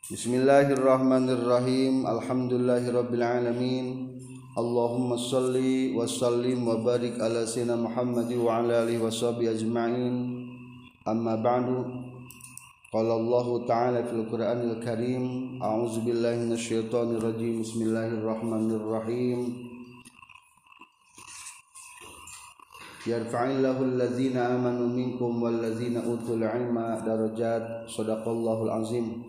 Bismillahirrahmanirrahim. Alhamdulillahirabbil alamin. Allahumma shalli wa sallim wa barik ala sayyidina Muhammad wa ala alihi washabihi ajma'in. Amma ba'du. Qala Allah ta'ala fil Qur'anil Karim, a'udzu billahi minasyaitonir rajim. Bismillahirrahmanirrahim. Yarfa'illahu allazina amanu minkum wallazina utul ilma darajat. Shadaqallahul azim.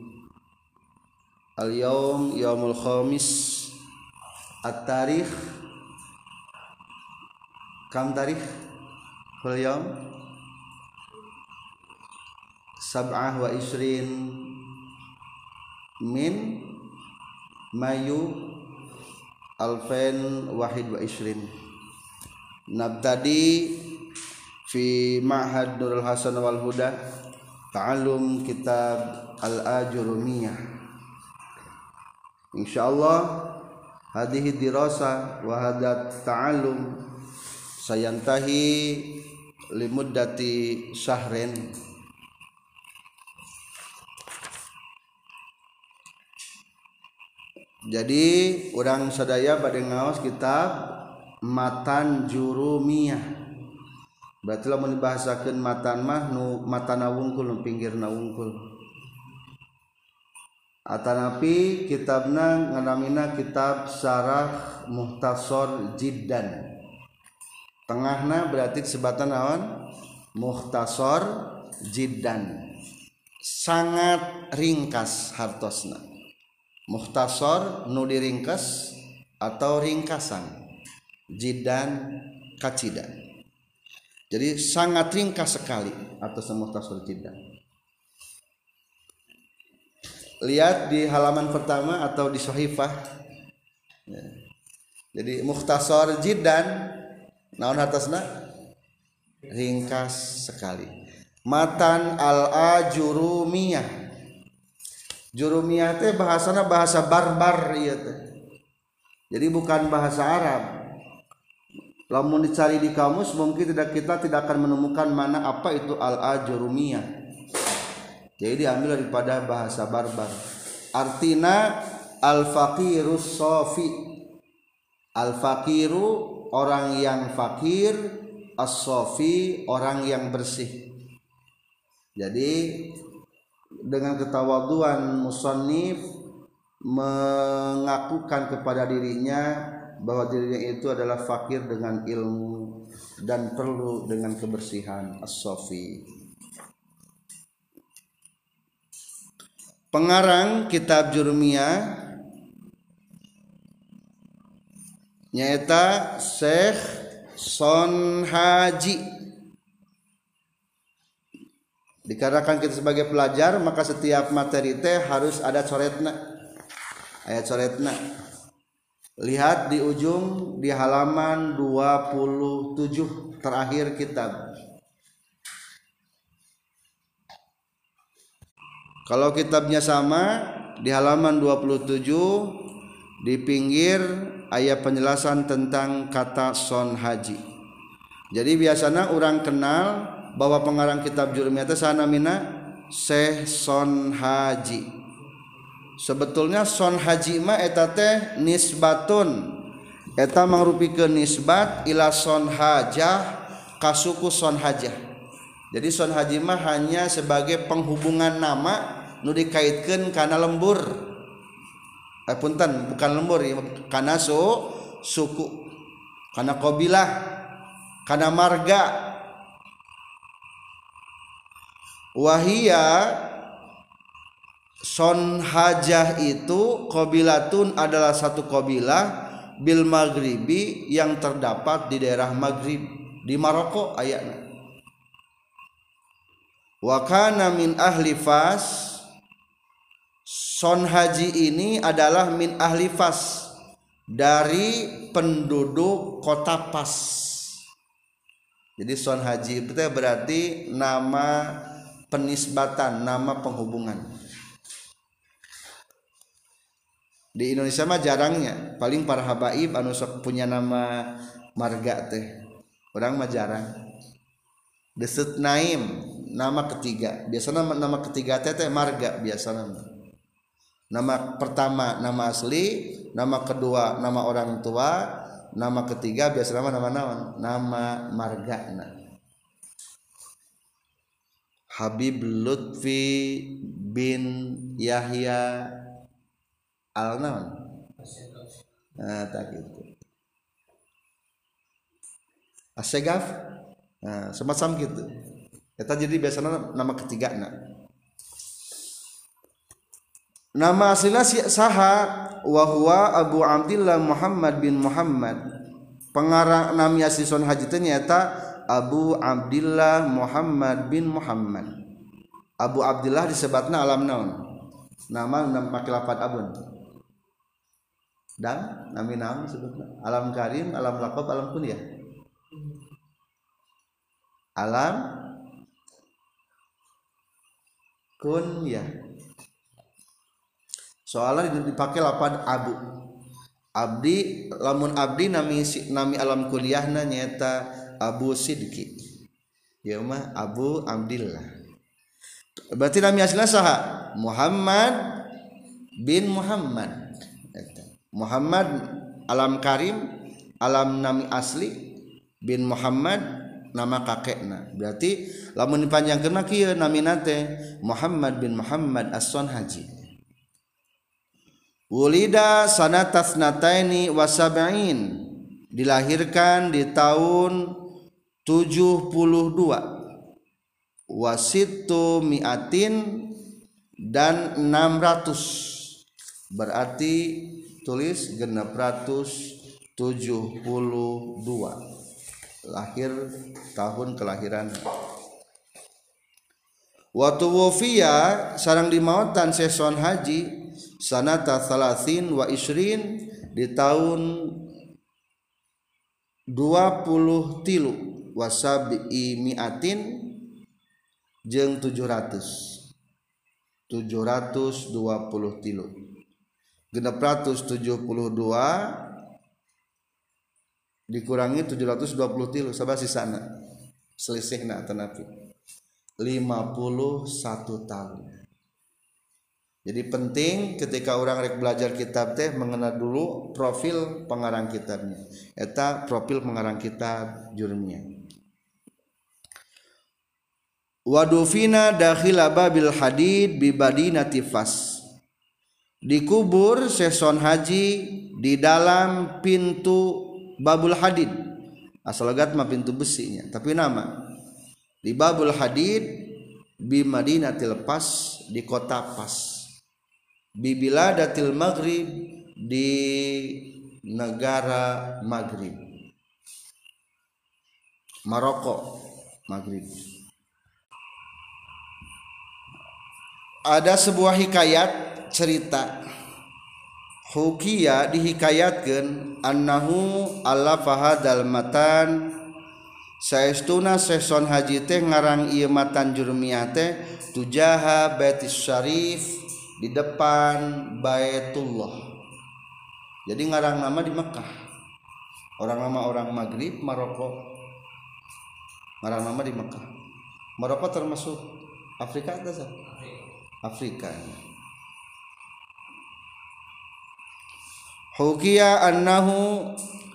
Al-yawm yaumul khamis. At-tarikh kam tarikh fil yaum 27 min Mayu 2021. Nabtadi fi Ma'had Nurul Hasan wal Huda ta'allum kitab Al-Ajurumiyah. Insyaallah hadhihi dirasa wa hadat ta'allum sayantahi limuddati syahrin. Jadi urang sadaya bade ngaos kitab Matan Jurumiyah. Berarti lamun dibahasakeun matan mah nu matana wungkul nu pinggirna wungkul. Atanapi kitabna nganamina kitab Syarah Mukhtasar Jiddan. Tengahna berarti sebatan naon? Mukhtasar Jiddan. Sangat ringkas hartosna. Mukhtasar nu diringkas atau ringkasan. Jiddan kacida. Jadi sangat ringkas sekali atas Mukhtasar Jiddan. Lihat di halaman pertama atau di sahifah. Jadi Mukhtasar Jiddan naon atasna? Ringkas sekali. Matan al-Ajurumiyah. Jurumiyah teh bahasana bahasa barbar ieu teh. Jadi bukan bahasa Arab. Lamun dicari di kamus mungkin kita tidak akan menemukan mana apa itu al-Ajurumiyah. Jadi diambil daripada bahasa barbar. Artina al-faqirus sofi. Al-faqiru orang yang fakir, as-sofi orang yang bersih. Jadi dengan ketawaduan musannif mengakukan kepada dirinya bahwa dirinya itu adalah fakir dengan ilmu dan perlu dengan kebersihan, as-sofi. Pengarang kitab Jurumiyah nyaeta Syekh Sonhaji. Dikarenakan kita sebagai pelajar maka setiap materi teh harus ada coretna. Aya coretna. Lihat di ujung di halaman 27 terakhir kitab. Kalau kitabnya sama di halaman 27 di pinggir ayat penjelasan tentang kata Sonhaji. Jadi biasanya orang kenal bahwa pengarang kitab Jurumiyah teh sanamina Syekh Sonhaji. Sebetulnya Sonhaji mah eta teh nisbatun. Eta mangrupikeun nisbat ila Sonhajah ka suku Sonhajah. Jadi Sonhaji mah hanya sebagai penghubungan nama nu dikaitkeun kana lembur. Punten, bukan lembur ya, kana suku, kana qabilah, kana marga. Wahia Sonhajah itu qabilatun adalah satu qabilah bil maghribi yang terdapat di daerah Maghrib di Maroko ayatna. Wa kana min ahli Fas. Sonhaji ini adalah min ahli Fas, dari penduduk kota Fas. Jadi Sonhaji itu berarti nama penisbatan, nama penghubungan. Di Indonesia mah jarangnya, paling para habaib anu sok punya nama marga teh. Orang mah jarang. Desut Naim nama ketiga, biasanya nama ketiga teh marga biasanya. Nama pertama nama asli, nama kedua nama orang tua, nama ketiga biasa nama naon? Nama margana. Habib Lutfi bin Yahya al-naon? Nah, tak gitu. Asegaf. Nah, semacam gitu. Eta jadi biasanya nama ketiga Nama aslina saha wa huwa Abu Abdillah Muhammad bin Muhammad. Pengarang nami asli Son Haji teh nyata Abu Abdillah Muhammad bin Muhammad. Abu Abdillah disebutna alam naon? Nama make lafaz abun. Dan nami naon disebutna? Alam karim, alam laqab, alam kunyah. Alam kunyah. Soalnya dipakai lafaz abu. Abdi lamun abdi nami alam kuliahna nyata Abu Sidki. Ya mah Abu Abdillah. Berarti nami aslinya saha? Muhammad bin Muhammad. Muhammad alam karim, alam nami asli, bin Muhammad nama kakekna. Berarti lamun dipanjangkeun kieu namina teh Muhammad bin Muhammad As-Son Haji. Wulida sanatas nataini wasab'in, dilahirkan di tahun 72, wasitu mi'atin dan 600, berarti tulis 672, lahir tahun kelahiran. Waktu wafia sarang dimautan Son Haji sanata salasin wa isrin di tahun 23 wasabi mi'atin jeung 723 672 dikurangi 723 sabaraha sisana selisihna tanapi 51 tahun. Jadi penting ketika orang rek belajar kitab teh mengenal dulu profil pengarang kitabnya. Eta profil pengarang kitab Jurmiyah. Wadufina dakhila babil hadid bi badinati Fas. Dikubur Son Haji di dalam pintu Babul Hadid. Asal logat mah pintu besinya, tapi nama di Babul Hadid bi Madinatil Fas, di kota Fas. Bibiladatil Maghrib, di negara Maghrib, Maroko Maghrib. Ada sebuah hikayat cerita hukia dihikayatkeun annahu allafa hadal matan saestuna Son Haji teh ngarang ieu matan Jurmiyah teh tujaha Baitis Syarif, di depan Baitullah. Jadi ngarang nama di Mekah. Orang nama orang Maghrib Maroko. Ngarang nama di Mekah. Maroko termasuk Afrika atau sah? Afrika. Hukiya annahu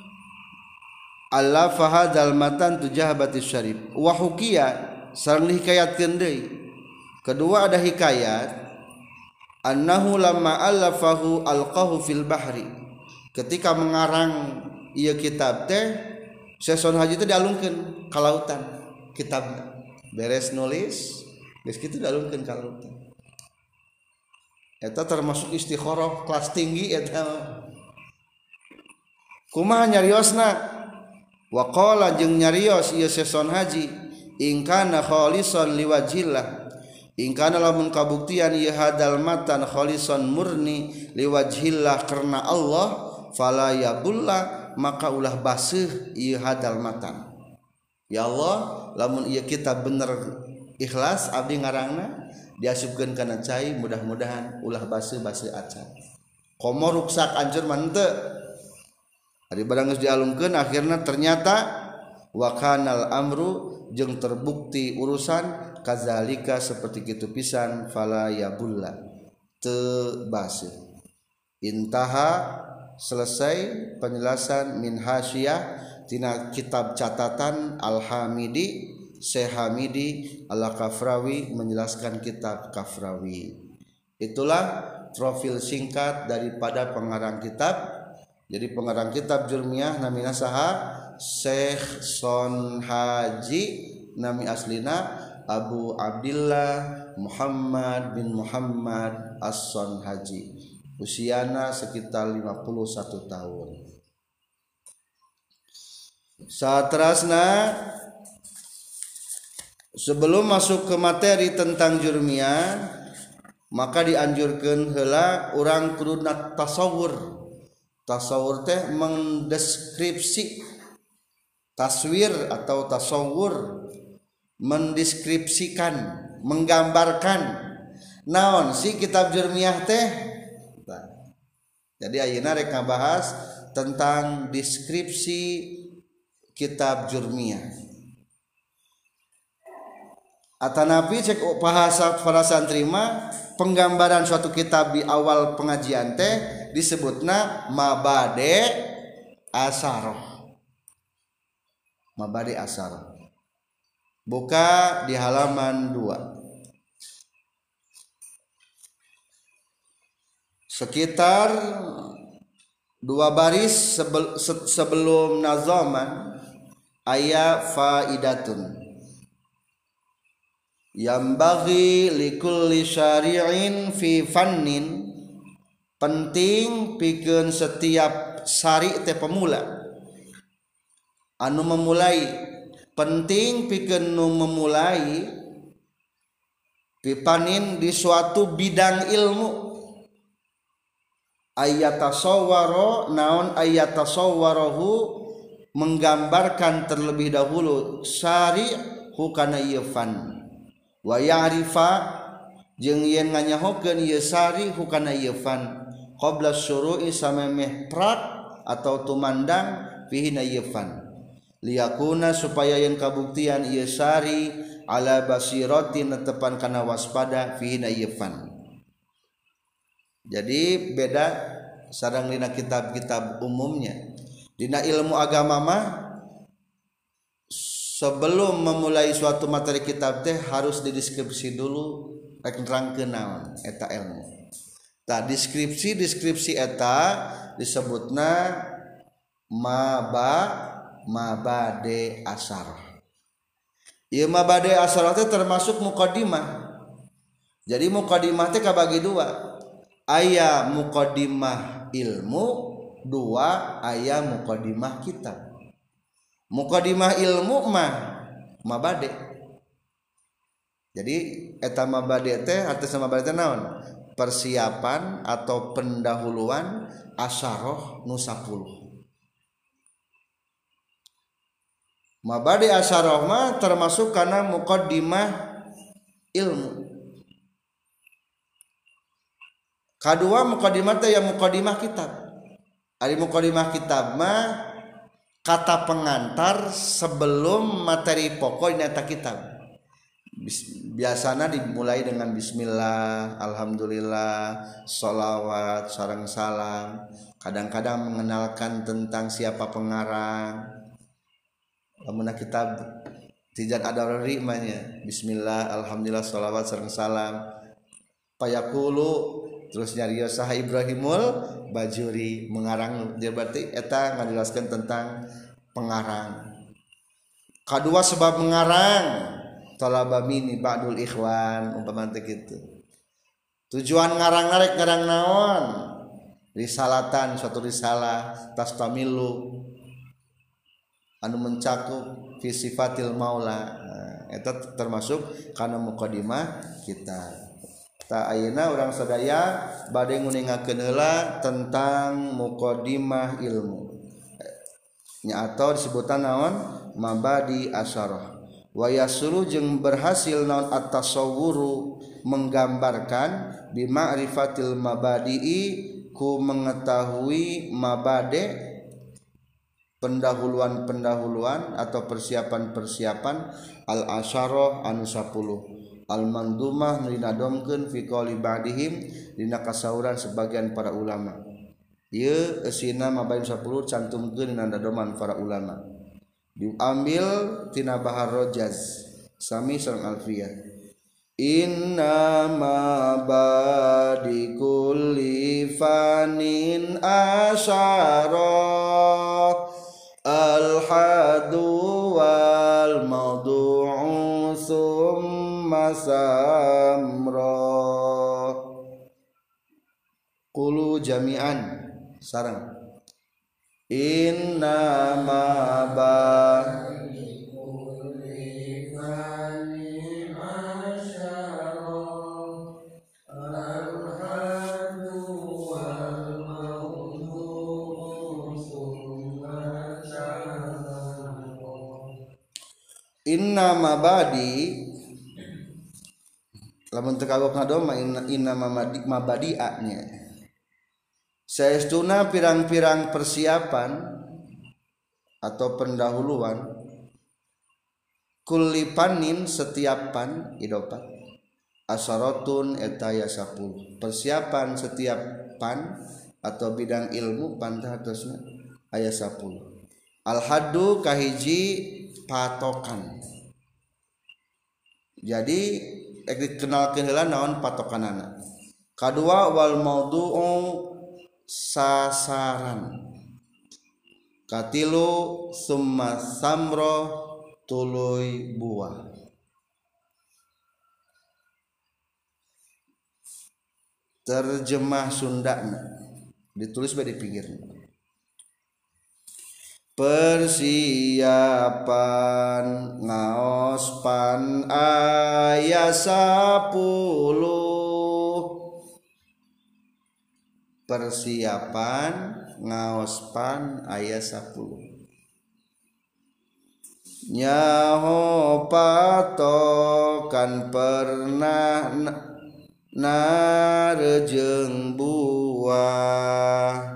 allafa hadzal matan tujah Baitis Syarif. Wa hukiya sareng dihikayatkeun deui. Kedua ada hikayat annahu lamma allafahu alqahu fil bahri, ketika mengarang ieu kitab teh Son Haji teh dialungkeun ka lautan kitabna, beres nulis geus kitu dialungkeun ka lautan. Eta termasuk istikharah kelas tinggi eta. Kumaha nyariosna? Wa qala jeung nyarios ieu Son Haji in kana khalisan liwajhillah, ingkana lamun kabuktian ieu hadal matan khalisan murni liwajhillah karena Allah, fala yabulla maka ulah baseuh ieu hadal matan. Ya Allah, lamun ieu kitab bener ikhlas abdi ngarangna diasupkeun kana cai, mudah-mudahan ulah baseuh acan. Komo ruksak anjeun mah henteu. Ari barang geus dialungkeun akhirna ternyata wa kanal amru jeung terbukti urusan kazalika seperti kitu pisan fala yabulla teu basir. Intaha selesai penjelasan min hasyiyah tina kitab catatan Al-Hamidi Syekh Hamidi Al-Kafrawi menjelaskan kitab Kafrawi. Itulah profil singkat daripada pengarang kitab. Jadi pengarang kitab Jurmiyah namina saha? Syekh Son Haji, nami aslina Abu Abdillah Muhammad bin Muhammad As-Son Haji. Usiana sekitar 51 tahun. Satrasna sebelum masuk ke materi tentang Jurmiyah, maka dianjurkan heula urang kuduna tasawur. Tasawur teh mendeskripsi, taswir atau tasawur mendeskripsikan, menggambarkan naon si kitab Jurmiyah teh. Jadi ayeuna rek ngabahas tentang deskripsi kitab Jurmiyah. Atanapi cek bahasa para santri mah penggambaran suatu kitab di awal pengajian teh disebutna mabade asaroh. Mabade asaroh. Buka di halaman 2. Sekitar 2 baris sebelum nazaman aya faidatun. Yambaghi likulli syari'in fi fannin, penting pikeun setiap syari' teh pemula anu memulai, penting pikeun nu memulai pipanin di suatu bidang ilmu ayatasawwaro, naon ayatasawwarahu, menggambarkan terlebih dahulu syari' hukana ieu fan, wa ya'rifa jeung yen nganyahokeun ieu sari hukana ieu fan qabla syuru'i samemeh prak atau tumandang fihi na ieu fan, liyakuna supaya yen kabuktian ieu sari ala basiratin netepan kana waspada fihi na ieu fan. Jadi beda sareng dina kitab-kitab umumnya. Dina ilmu agama mah sebelum memulai suatu materi kitab teh harus dideskripsi dulu rek nerangkeun naon eta ilmu. Tah deskripsi eta disebutna mabade asarah. Ieu mabade asarah teh termasuk muqaddimah. Jadi muqaddimah teh kabagi dua. Aya muqaddimah ilmu, dua aya muqaddimah kitab. Muqaddimah ilmu mah mabade. Jadi eta mabade teh artinya mabade teh naon? Persiapan atau pendahuluan asaroh nu 10. Mabade asaroh mah termasuk kana muqaddimah ilmu. Kadua muqaddimah teh ya muqaddimah kitab. Ari muqaddimah kitab mah kata pengantar sebelum materi pokok nyata kitab. Biasanya dimulai dengan bismillah, alhamdulillah, sholawat, sareng salam. Kadang-kadang mengenalkan tentang siapa pengarang. Lamun kitab Tijat Ad-Darari manya bismillah, alhamdulillah, sholawat, sareng salam. Payaqulu terus nyarios saha Ibrahimul Bajuri mengarang, dia berarti eta ngajelaskeun tentang pengarang. Kadua sebab mengarang talaba mini ba'dul ikhwan umpama teh kitu. Tujuan ngarang naon? Risalatan, suatu risalah tastamilu anu mencakup fi sifatil maula. Eta termasuk kana muqaddimah kitab. Ta ayeuna urang sadaya bade nguningakeun heula tentang muqaddimah ilmu. Nya atau disebutan naon? Mabadi asyarah. Wa yasulu jeung berhasil naon at-tasawwuru menggambarkan bi ma'rifatil mabadi'i ku mengetahui mabade pendahuluan-pendahuluan atau persiapan-persiapan al-asyarah anu 10. al-mandumah nu dinadomkeun fi qouli ba'dihim dina kasauran sebagian para ulama. Ieu eusina mabain 10 cantumkeun dina nadoman para ulama. Diambil tina Bahar Rojaz sami sareng Alfiyah. Inna ma badi kulli fanin asyara al-hadu wal mawdu'u summa samra. Qulu jami'an sareng inna ma badi kulli fanin asyara al-hadu wal mawdu'u summa samra. Inna mabadi lamun teu kagok ngadoma inna mabadi'anya saestuna pirang-pirang persiapan atau pendahuluan kulli panin setiap pan idopat asaratun eta aya 10 persiapan setiap pan atau bidang ilmu pantah atasna aya 10. Al-haddu kahiji patokan. Jadi dikenalkeun heula naon patokanana. Kadua wal maudu'u sasaran. Katilu summa samro tuluy buah. Terjemah Sundana ditulis bae di pinggirna. Persiapan ngaos pan aya 10. Persiapan ngaos pan aya 10. Nyaho patokan pernah narejeng buah.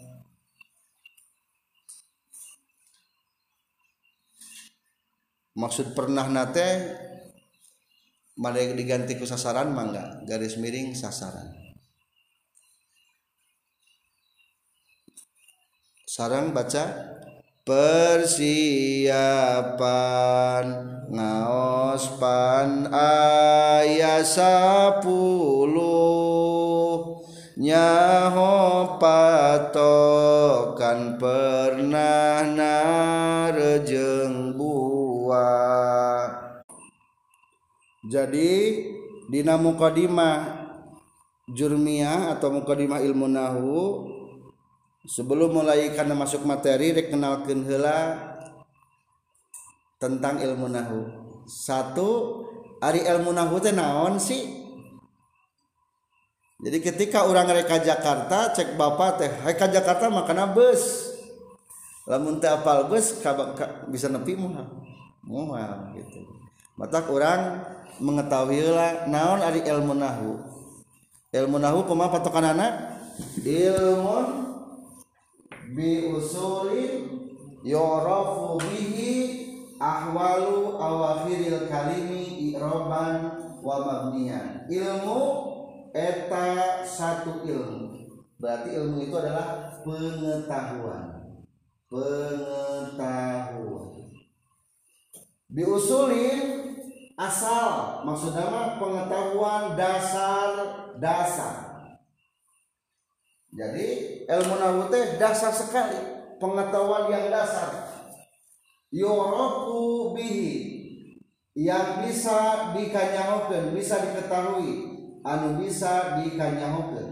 Maksud pernah nate made diganti ku sasaran mangga garis miring sasaran. Sarang baca persiapan ngaos pan aya 10 nyaho patokan pernah narejeng buah. Jadi dina muqaddimah jurmiyah atau muqaddimah ilmu nahwu sebelum mulai kana masuk materi rek kenalkeun heula tentang ilmu nahwu. Satu, ari ilmu nahwu teh naon sih? Jadi ketika orang rek ka Jakarta cek bapak teh, "Hai ka Jakarta makana bus." Lamun teu apal bus bisa nepi moal gitu. Mata orang mengetahui heula naon ari ilmu nahwu. Ilmu nahwu kumaha patokanana? Ilmun bi usulin yurafu bihi ahwalu awakhiril kalimi i'raban wa mabniyan. Ilmu eta satu ilmu. Berarti ilmu itu adalah pengetahuan. Biusulin asal, maksudnya mah pengetahuan dasar. Jadi ilmu nahwu teh dasar sekali, pengetahuan yang dasar. Yurafu bihi, yang bisa dikanyahokeun, bisa diketahui, anu bisa dikanyahokeun.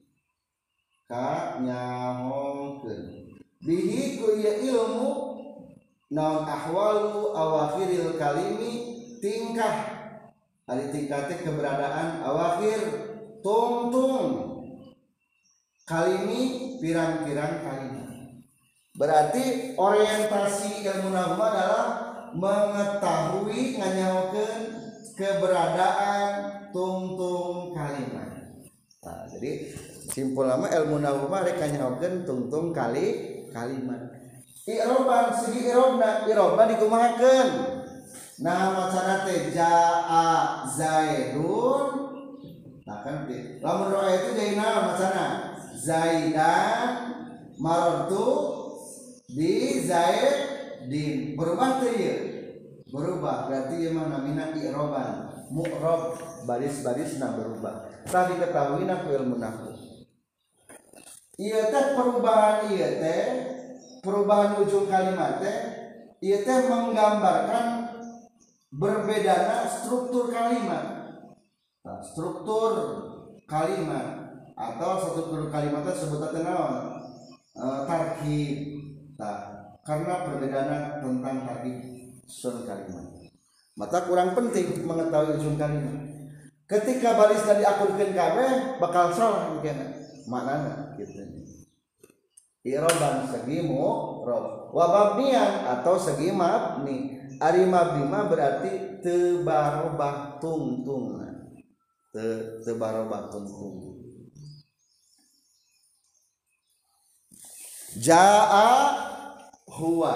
Bihi ku ieu ilmu naon ahwalu awakhiril kalimi tingkah ari tingkatnya keberadaan awakhir tungtung kalimi pirang-pirang kalimat. Berarti orientasi ilmu nahwu adalah mengetahui nganyahokeun keberadaan tungtung kalimat. Nah, jadi simpul nama ilmu nahwu mah rek nganyahokeun tungtung kalimat. I'roban segi i'robna dikumahakeun. nah macana teh jaa zaidun nah kan teh lamun roa itu jadi naon macana zaidan marartu di zaidin berubah teh ieu berubah berarti ieu mah namina i'roban mu'rob baris-barisna berubah tah diketahuina ku ilmu nahwu ieu teh perubahan ieu teh perubahan ujung kalimat teh ieu teh menggambarkan berbedana struktur kalimat. Nah, struktur kalimat atau struktur kalimat itu sebutan naon? Tarkib. Nah, karena perbedaan tentang tarkib susun kalimat. Maka kurang penting mengetahui ujung kalimat. Ketika barisna diakurkeun kabeh bakal salah mungkin maknana gitu. I'roban segi mu'rob wa mabniyan atau segi mabni. Ari mabni mah berarti teu barobah tungtungna. Teu barobah tungtung. Jaa huwa.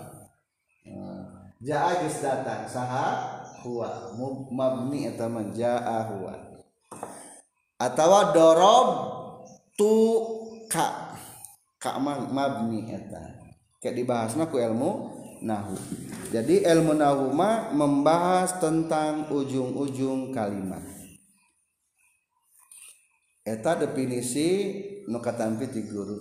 Jaa geus datang saha huwa mabni eta mah jaa huwa. Atawa dorob tu ka mabni eta. Kayak dibahasna ku ilmu nahwu. Jadi ilmu nahwu mah membahas tentang ujung-ujung kalimat. Eta definisi nu katampi ti guru.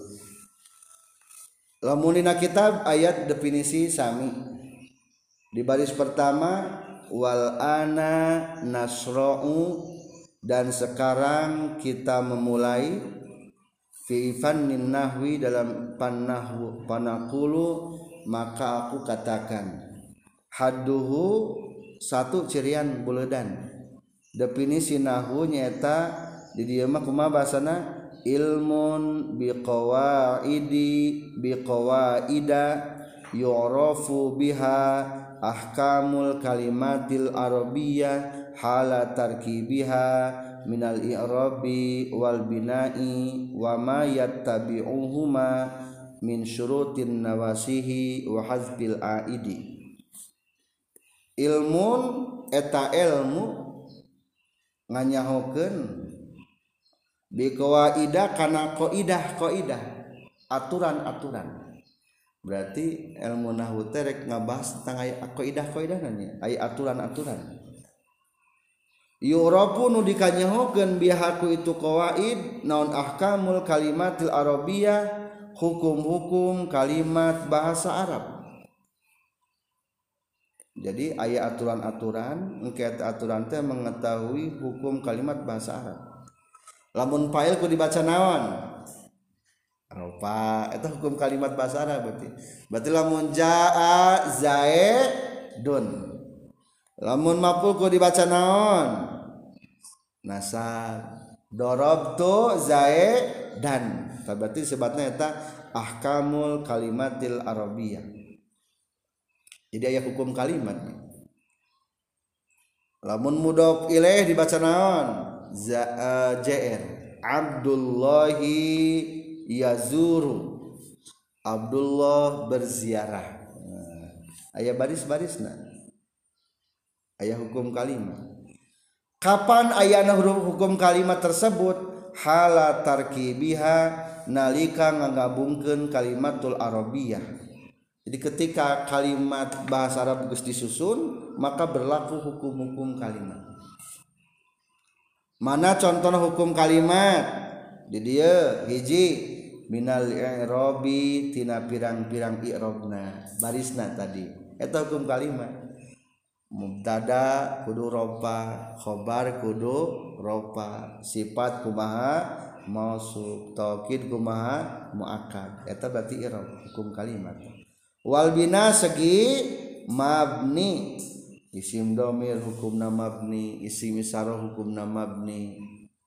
Lamun dina kitab ayat definisi sami. Di baris pertama wal ana nasra'u dan sekarang kita memulai fi fannin nahwi dalam panahwu panaqulu maka aku katakan hadduhu satu cirian buledan definisi nahwu nyaeta di dieu mah kumaha basana ilmun biqawaida yu'rafu biha ahkamul kalimatil arabiyyah hala tarkibiha minal i'rabi wal bina'i wa ma yattabi'uhuma min syurutin nawasihi wa hazbil aidi. Ilmun eta ilmu nganyahokeun bi qawaida kana qaidah aturan-aturan. Berarti ilmu nahwu teh rek ngabahas tentang aya qaidah-qaidah nya, aya aturan-aturan. Yu'rafu nu dikanyahokeun bihaku itu qawaid naon ahkamul kalimatil arabiyyah hukum-hukum kalimat bahasa Arab. Jadi aya aturan-aturan engke aturan teh mengetahui hukum kalimat bahasa Arab. Lamun fa'il ku dibaca naon? Rupa eta hukum kalimat bahasa Arab berarti. Berarti lamun jaa zaidun. Lamun maf'ul ku dibaca naon? Nasab. Darabtu zaidan. Berarti sebatna eta ahkamul kalimatil arabiyyah. Jadi aya hukum kalimat. Lamun mudhof ilaih dibaca naon? Jr. Abdullahi yazuru. Abdullah berziarah. Aya baris-barisna. Aya hukum kalimat. Kapan ayana hukum kalimat tersebut? Hala tarkibiha nalika ngagabungkeun kalimatul arabiyyah. Jadi ketika kalimat bahasa Arab geus disusun maka berlaku hukum-hukum kalimat. Mana contoh hukum kalimat? Di dieu hiji minal i'rabi tina pirang-pirang i'rabna barisna tadi. Eta hukum kalimat. Mubtada kudu rofa, khobar kudu rofa, sifat kumaha mausuf, taukid kumaha muakkad. Eta berarti i'rab hukum kalimat. Wal bina segi mabni, isim dhamir hukumna mabni, isim isyarah hukumna mabni.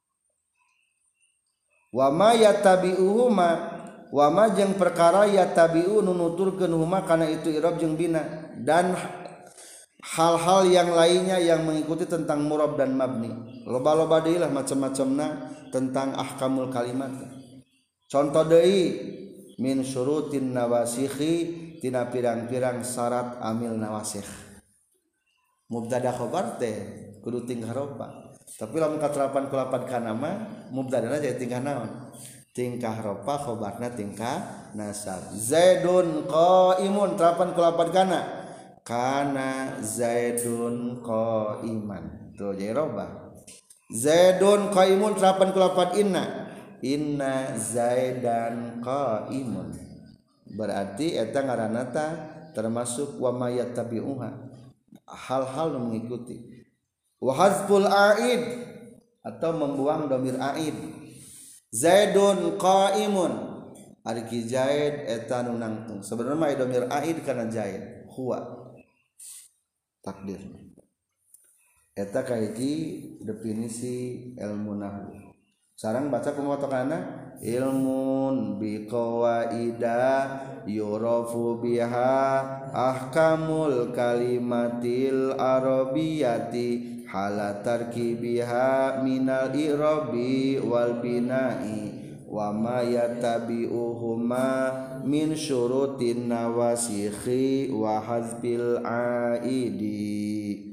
Wa ma yattabi'uhuma, wa ma jeung perkara yattabi'u nunuturkeun huma kana itu i'rab jeung bina dan hal-hal yang lainnya yang mengikuti tentang murab dan mabni. Loba-loba deui lah macam-macamna tentang ahkamul kalimat. Contoh deui min syurutin nawasikhi tina pirang-pirang syarat amil nawasikh. mubtada khobar teh kudu tingkah ropa tapi lamun katerapan ku lapan kana mah mubtadana jadi tingkah naon tingkah ropa khobarna tingkah nasab zaidun qaimun terapan ku lapan kana zaidun qaiman tuh jadi roba zaidun qaimun terapan ku lapan inna zaidan qaimun berarti eta ngaranna termasuk wa mayattabi'uha hal-hal yang mengikuti wa hazful aid atau membuang domir aid zaidun qaimun ari ki zaid eta nu nangtung sebenarnya mah domir aid kana zaid huwa takdir eta kahiji definisi ilmu nahwu sareng baca pemotokana ilmun biqawaida yurafu biha ahkamul kalimatil arabiyati halatarki biha minal i'rabi wal bina'i wa ma yatabi'uhuma min syurutin nawasikhi wa hazbil aidi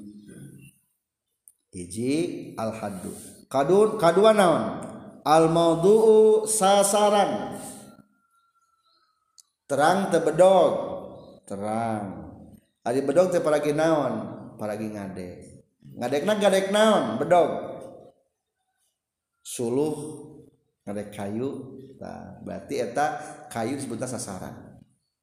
hiji al haddu kadua naon al maudu'u sasaran terang teu bedog terang ari bedog teh paragi naon paragi ngadekna gadek naon bedog suluh ngadek kayu tah berarti eta kayu disebutna sasaran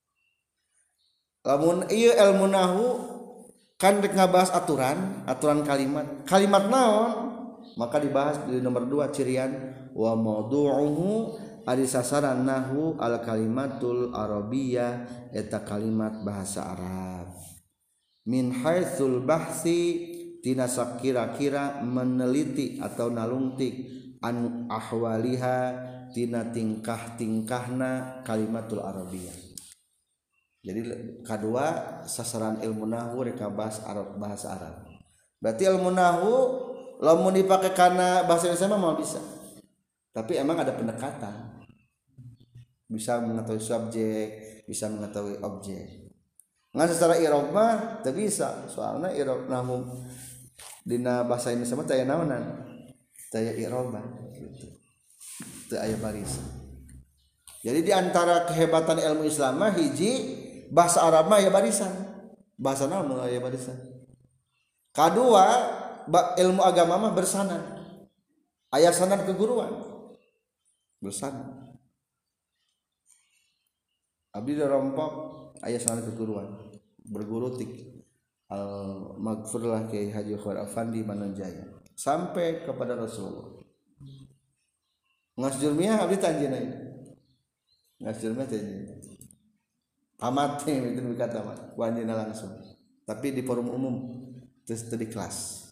lamun ieu ilmu nahwu kan rek ngabahas aturan kalimat naon maka dibahas di nomor 2 cirian wa maudu'uhu ari sasaran nahwu al kalimatul arabiyyah eta kalimat bahasa Arab min haitsul bahsi tina sakira-kira meneliti atau nalungtik an ahwaliha tina tingkah-tingkahna kalimatul arabiyyah jadi kedua sasaran ilmu nahwu rek bahasa Arab berarti ilmu nahwu lamun dipakai kana bahasa Indonesia mah bisa tapi emang ada pendekatan bisa mengetahui subjek bisa mengetahui objek ngan secara i'rab mah teu bisa soalna i'rab nahwu dina bahasa Indonesia mah teu aya naonan teu aya i'raban gitu teu aya barisan jadi di antara kehebatan ilmu Islam mah hiji bahasa Arab mah aya barisan bahasa naon aya barisan kadua ilmu agama mah bersanad aya sanad keguruan bersanad abdi rompok aya sanad keguruan berguru tik al maghfurlah Kiai Haji Khair Afandi Manunjaya sampai kepada Rasulullah ngas jurmiah abdi tanjeuna ngas jurmiah tanjeuna tamat itu berkata tamat wanjina langsung tapi di forum umum terus di kelas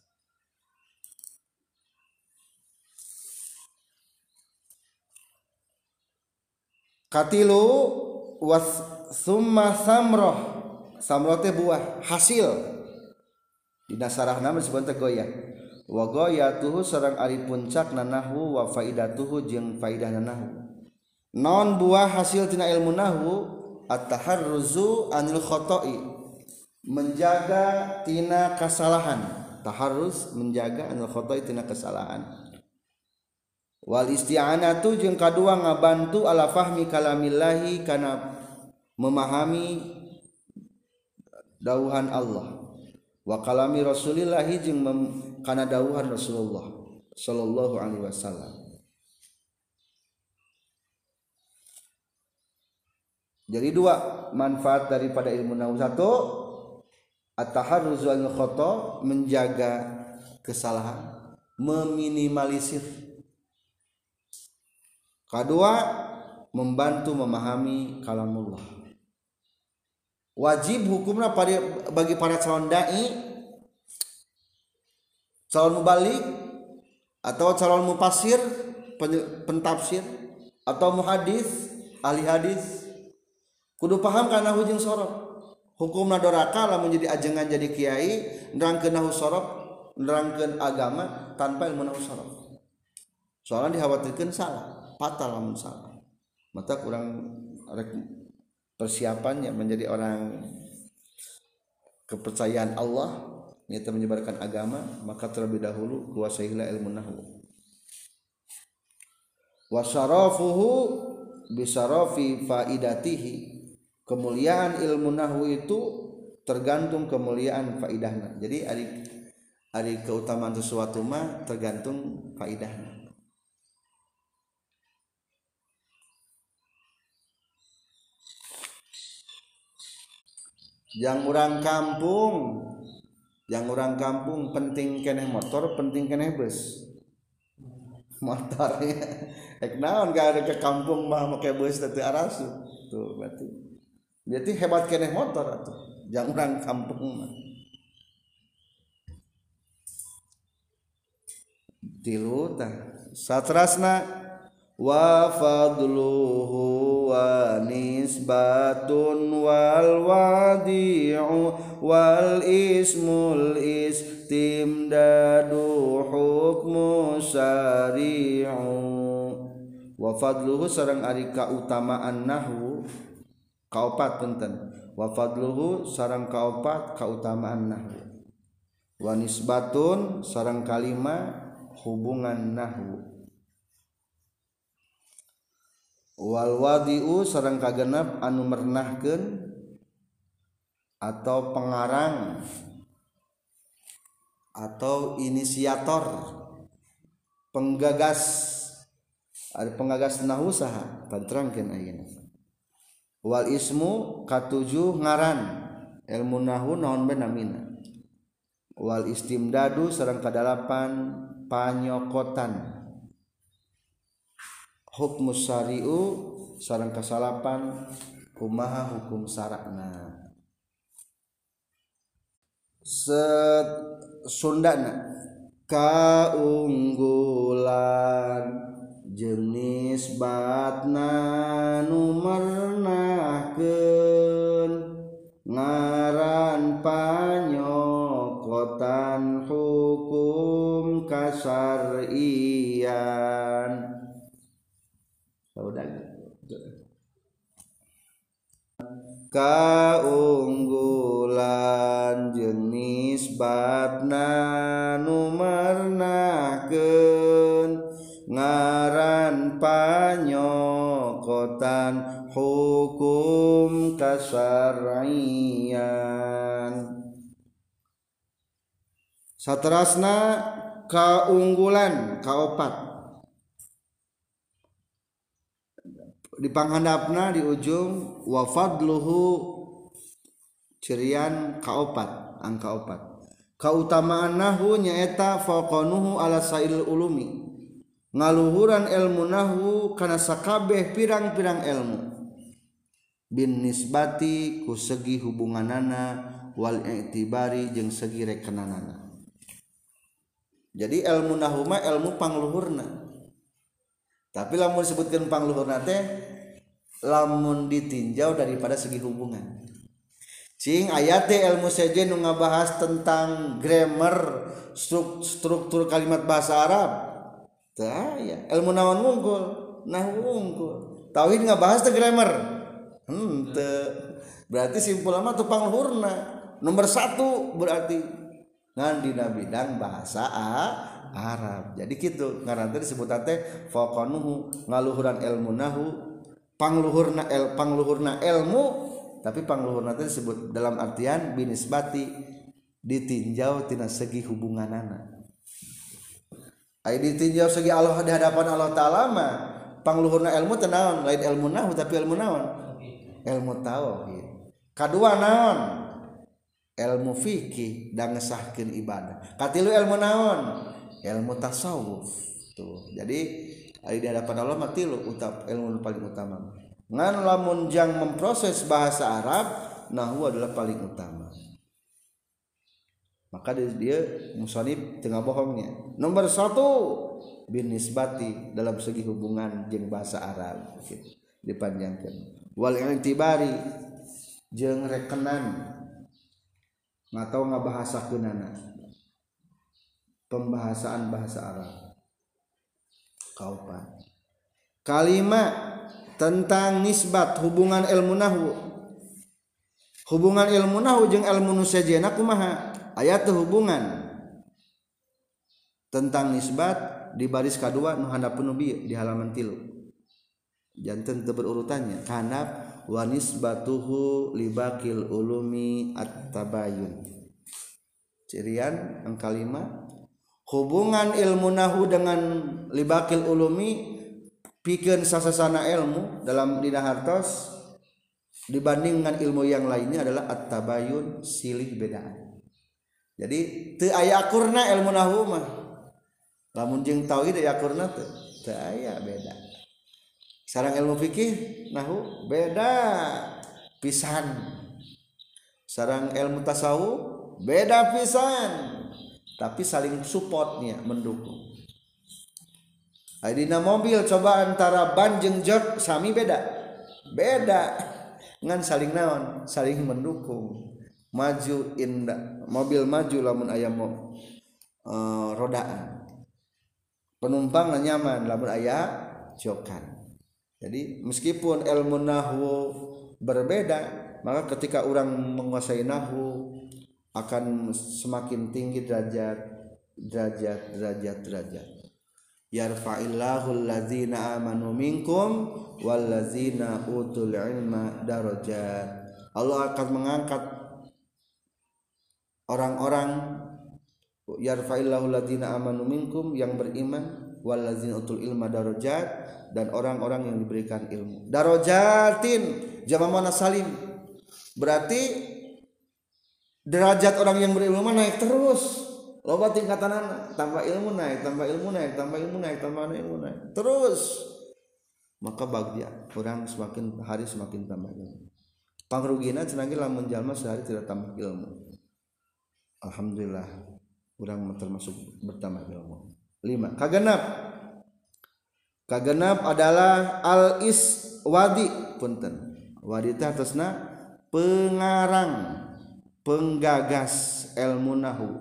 katilu was summa samroh teh buah hasil dina sarahna disebut teh goyah wa goyatuhu sareng ari puncakna nahwu wa faidatuhu jeung faidahna nahwu non buah hasil tina ilmu nahwu at-taharruzu anil khoto'i menjaga tina kesalahan taharruz menjaga anil khoto'i tina kesalahan wal isti'anatu jeung kadua ngabantu ala fahmi kalamillahi kana memahami dawuhan Allah wa kalami rasulillahi jeung kana dawuhan Rasulullah sallallahu alaihi wasallam jadi dua manfaat daripada ilmu nahwu satu at-taharruz wal khata menjaga kesalahan meminimalisir kedua membantu memahami kalamullah wajib hukumna bagi para calon dai calon mubalik atau calon mufassir pentafsir atau muhadis ahli hadis kudu paham kana nahwu jeung sorab hukumna doraka lamun jadi ajengan jadi kiai nerangkeun nahwu sorab nerangkeun agama tanpa ilmu nahwu sorab soalnya dikhawatirkeun salah fatal lamun salah mata kurang persiapannya menjadi orang kepercayaan Allah niat menyebarkan agama, maka terlebih dahulu kuasailah ilmu nahwu. Wa syarafuhu bisarafi faidatihi, kemuliaan ilmu nahwu itu tergantung kemuliaan faidahna. Jadi ari keutamaan sesuatu mah tergantung faidahna. Yang orang kampung penting keneh motor, penting keneh bus. Motornya ek naon ke kampung mah make bus teu arasu. Tuh berarti hebat keneh motor atuh. Yang orang kampung mah. Tilu tah. Satrasna wa fadluhu wa nisbatun wal wadi'u wal ismul istimdadu hukmu syari'u. Wa fadluhu sareng ari kautamaan nahwu kaopat punten. Wa fadluhu sareng kaopat kautamaan nahwu. Wa nisbatun sareng kalima hubungan nahwu. Wal wadi'u sareng kagenep anu mernahkeun atau pengarang atau inisiator, penggagas, ada penggagas nahwu saha panterangkeun ayeuna. Wal ismu katujuh ngaran ilmu nahwu naon bae namina. Wal istimdadu sareng kadalapan panyokotan. Hukmu syari'u sareng kasalapan kumaha hukum syarakna. Sundana kaunggulan jeung nisbatna nu mernahkeun ngaran panyokotan hukum kasarian. Kaunggulan jeung nisbatna nu mernahkeun ngaran panyokotan hukum kasarian. Saterasna kaunggulan kaopat. Di panghandapna di ujung wa fadluhu cirian kaopat angka opat. Kautamaan nahwu nyaeta faqanuhu ala sail ulumi, ngaluhuran ilmu nahwu kana sakabeh pirang-pirang ilmu, bin nisbati ku segi hubunganana wal i'tibari jeung segi rekenanana. Jadi ilmu nahwu mah ilmu pangluhurna. Tapi lamun disebutkan pangluhurna teh lamun ditinjau daripada segi hubungan. Cing aya teh ilmu sejen nu ngabahas tentang grammar, struktur kalimat bahasa Arab. Teu aya. Ilmu naon wungkul? Nahwu wungkul. Tauhid ngabahas teh grammar. Teu. Berarti simpulna mah teu pangluhurna. Nomor 1 berarti ngan dina bidang bahasa Arab. Jadi kitu ngaran teh disebut teh faqanuhu ngaluhuran ilmu nahwu, pangluhurna ilmu, tapi pangluhurna teh disebut dalam artian binisbati ditinjau tina segi hubunganana. Ai ditinjau segi Allah di hadapan Allah taala mah pangluhurna ilmu teh naon? Lain ilmu nahwu tapi ilmu naon? Ilmu tauhid. Kadua naon? Ilmu fikih dan ngesahkeun ibadah. Katilu ilmu naon? Ilmu tasawuf. Tuh. Jadi di hadapan Allah mah tilu ilmu paling utama. Ngan lamun jang memproses bahasa Arab, nahwu adalah paling utama. Maka dia musannif tengah bohongnya. Nomor 1 bin nisbati dalam segi hubungan jeung bahasa Arab gitu. Dipanjangkeun. Wal i'tibari jeung rekenan atau ngabahasakeunana. Pembahasaan bahasa Arab. Kaupan. Kalimat tentang nisbat hubungan ilmu nahwu. Hubungan ilmu nahwu jeung ilmu nu sejena kumaha? Aya teu hubungan tentang nisbat di baris kedua nu handapun bi di halaman 3. Janten teu berurutannya. Kanab wa nisbatuhu libakil ulumi at-tabayun. Cirian angka 5 hubungan ilmu nahwu dengan libakil ulumi pikeun sasasana ilmu dalam dina hartos dibandingkan ilmu yang lainnya adalah at-tabayun silih bedaan. Jadi teu aya akurna ilmu nahwu mah. Lamun jeung tauhid aya akurna teu aya beda. Sareng ilmu fikih nahwu beda pisan. Sareng ilmu tasawuf beda pisan. Tapi saling supportnya mendukung. Dina mobil coba antara ban jeung jok sami beda ngan saling naon saling mendukung maju indah mobil maju lamun aya rodaan penumpang nyaman lamun aya jokan. Jadi meskipun ilmu nahwu berbeda maka ketika orang menguasai nahwu akan semakin tinggi derajat yarfa'illahu allazina amanu minkum wallazina utul ilma darajat. Allah akan mengangkat orang-orang yarfa'illahu allazina amanu minkum yang beriman wallazina utul ilma darajat dan orang-orang yang diberikan ilmu. Darajatin jama' mana salim. Berarti derajat orang yang berilmu naik terus. Loba tingkatanana, tambah ilmu naik terus. Maka bagja orang semakin hari semakin tambah ilmu. Pangrugina cenah ge lamun jalma sehari tidak tambah ilmu. Alhamdulillah urang termasuk bertambah ilmu. 5. Kagenap adalah al-iswadi punten. Wadi teh atasna pengarang, penggagas ilmu nahwu.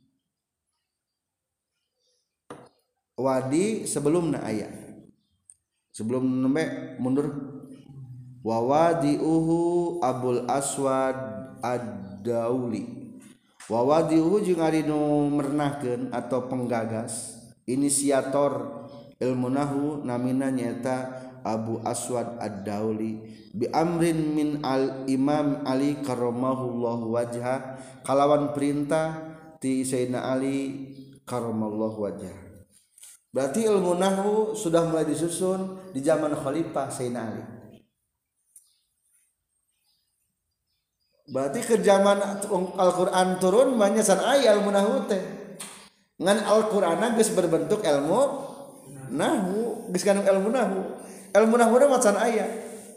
Wadi sebelumna aya. Sebelum nembe mundur wa wadiuhu Abul Aswad Ad-Dauli. Wa wadiuhu jeung ari nu mernahkeun atau penggagas, inisiator ilmu nahwu namina nyaeta Abu Aswad Ad-Dauli bi amrin min al-Imam Ali karramallahu wajha kalawan perintah ti Sayyidina Ali karramallahu wajha. Berarti ilmu nahwu sudah mulai disusun di zaman Khalifah Sayyidina Ali. Berarti ke zaman Al-Qur'an turun banyak san aya ilmu nahwu teh. Ngan Al-Qur'an geus berbentuk ilmu nahwu, geus kandung ilmu nahwu. Ilmu nahwu mah can aya.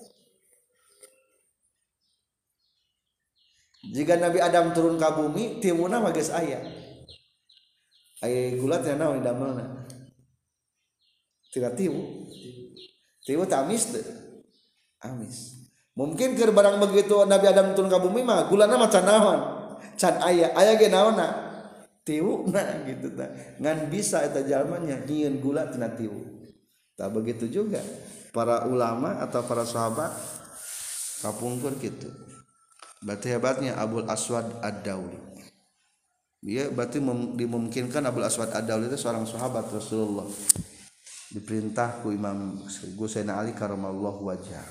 Jika Nabi Adam turun ke bumi, timuna mah geus aya. Aya gulat nya naon damelna. Tidak tiwu tamis deh. Amis. Mungkin keur barang begitu Nabi Adam turun ke bumi mah gulana mah can naon? Can aya ge naonna? Tiwuna gitu tah. Ngan bisa eta jalma nya nyieun gula tina tiwu. Tah begitu juga para ulama atau para sahabat kapungkur gitu. Berarti hebatnya Abul Aswad Ad-Dauli. Dia berarti dimungkinkan Abul Aswad Ad-Dauli itu seorang sahabat Rasulullah. Diperintah ku Imam Sayyidina Ali karramallahu wajhah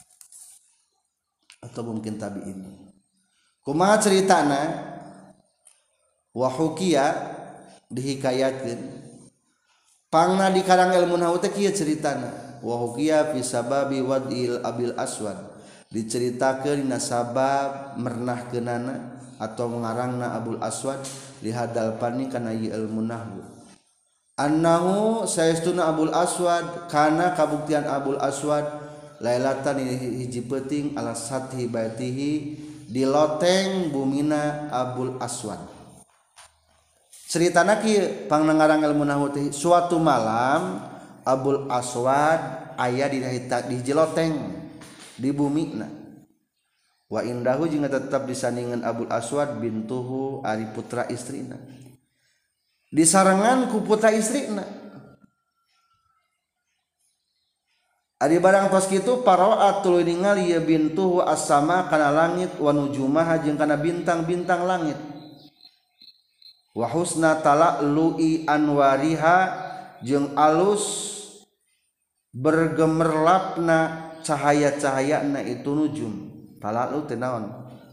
atau mungkin tabi'in. Kumaha ceritana wa hukiya dihikayatkeun pangna di karang ilmu nahwu teh kieu ceritana wa hukiya fi sababi wadil Abil Aswad diceritakeun dina sabab mernahkeunana atau ngarangna Abul Aswad lihadal pani kana ieu ilmu nahwu. Annahu saestuna Abul Aswad kana kabuktian Abul Aswad lailatan hiji peuting ala sathi baitihi di loteng bumina Abul Aswad. Ceritana kieu pangngarang ilmu nahwu teh suatu malam Abul Aswad aya di hiji loteng di bumina. Wa indahu jeung tetep disandingan Abul Aswad bintuhu ari putra istrina. Disarangan ku putra istrina. Ari barang tos kitu paraat tuluy ningali ya bintuhu as-sama kana langit wa nujumaha jeung kana bintang-bintang langit. wa husna tala'lu'i anwariha jeung alus bergemerlapna cahaya-cahayana itu nujum. Tala'lu teh naon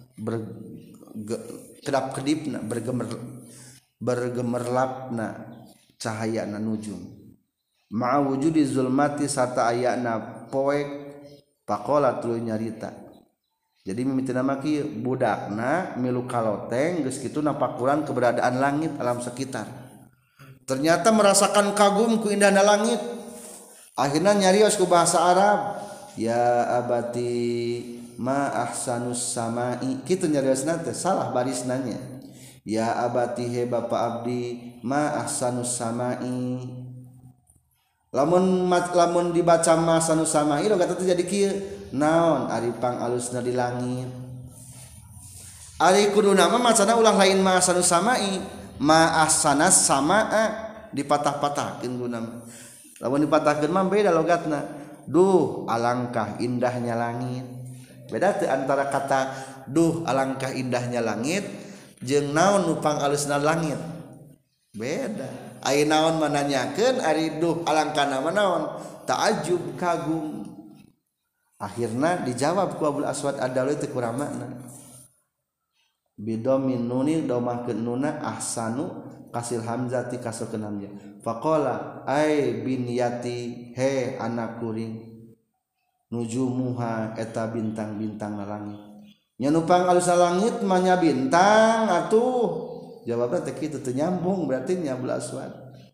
kedap-kedipna bergemerlapna cahayana nujum ma'a wujudi zulmati sarta ayana poek pakola tuluy nyarita. Jadi mimitina maki budakna milu kaloteng geus kitu napakuran keberadaan langit alam sekitar. Ternyata merasakan kagum ku indahna langit. Akhirnya nyarios ku bahasa Arab, ya abati ma ahsanus samai, kitu nyariosna teh salah barisnanya. Ya abati he bapa abdi ma ahsanus samai. Lamun dibaca ma ahsanus samai lo kata jadi kieu naon ari pangalusna di langit. Ari kuduna mah macana ulah lain ma ahsanus samai, ma ahsanas samaa dipatah-patahkeun guna. Lamun dipatahkeun mah beda logatna. Duh alangkah indahnya langit. Beda teh antara kata duh alangkah indahnya langit jeung naon nu pangalusna langit. Beda. Ai naon mananyakeun ari duh alangkahna mah naon? Ta'ajub kagum. Akhirna dijawab ku Abul Aswad Ad-Dauli teh kurang makna. Bidomin nuni domahkeun nuna ahsanu kasil hamzati kasrokeun hamzah. Faqala ai binyati he anak kuring nujumuha eta bintang-bintang na langit. Nya nu pangalusna langit mah nya bintang atuh. Jawabna teh kitu teu nyambung berarti nya Abul Aswad.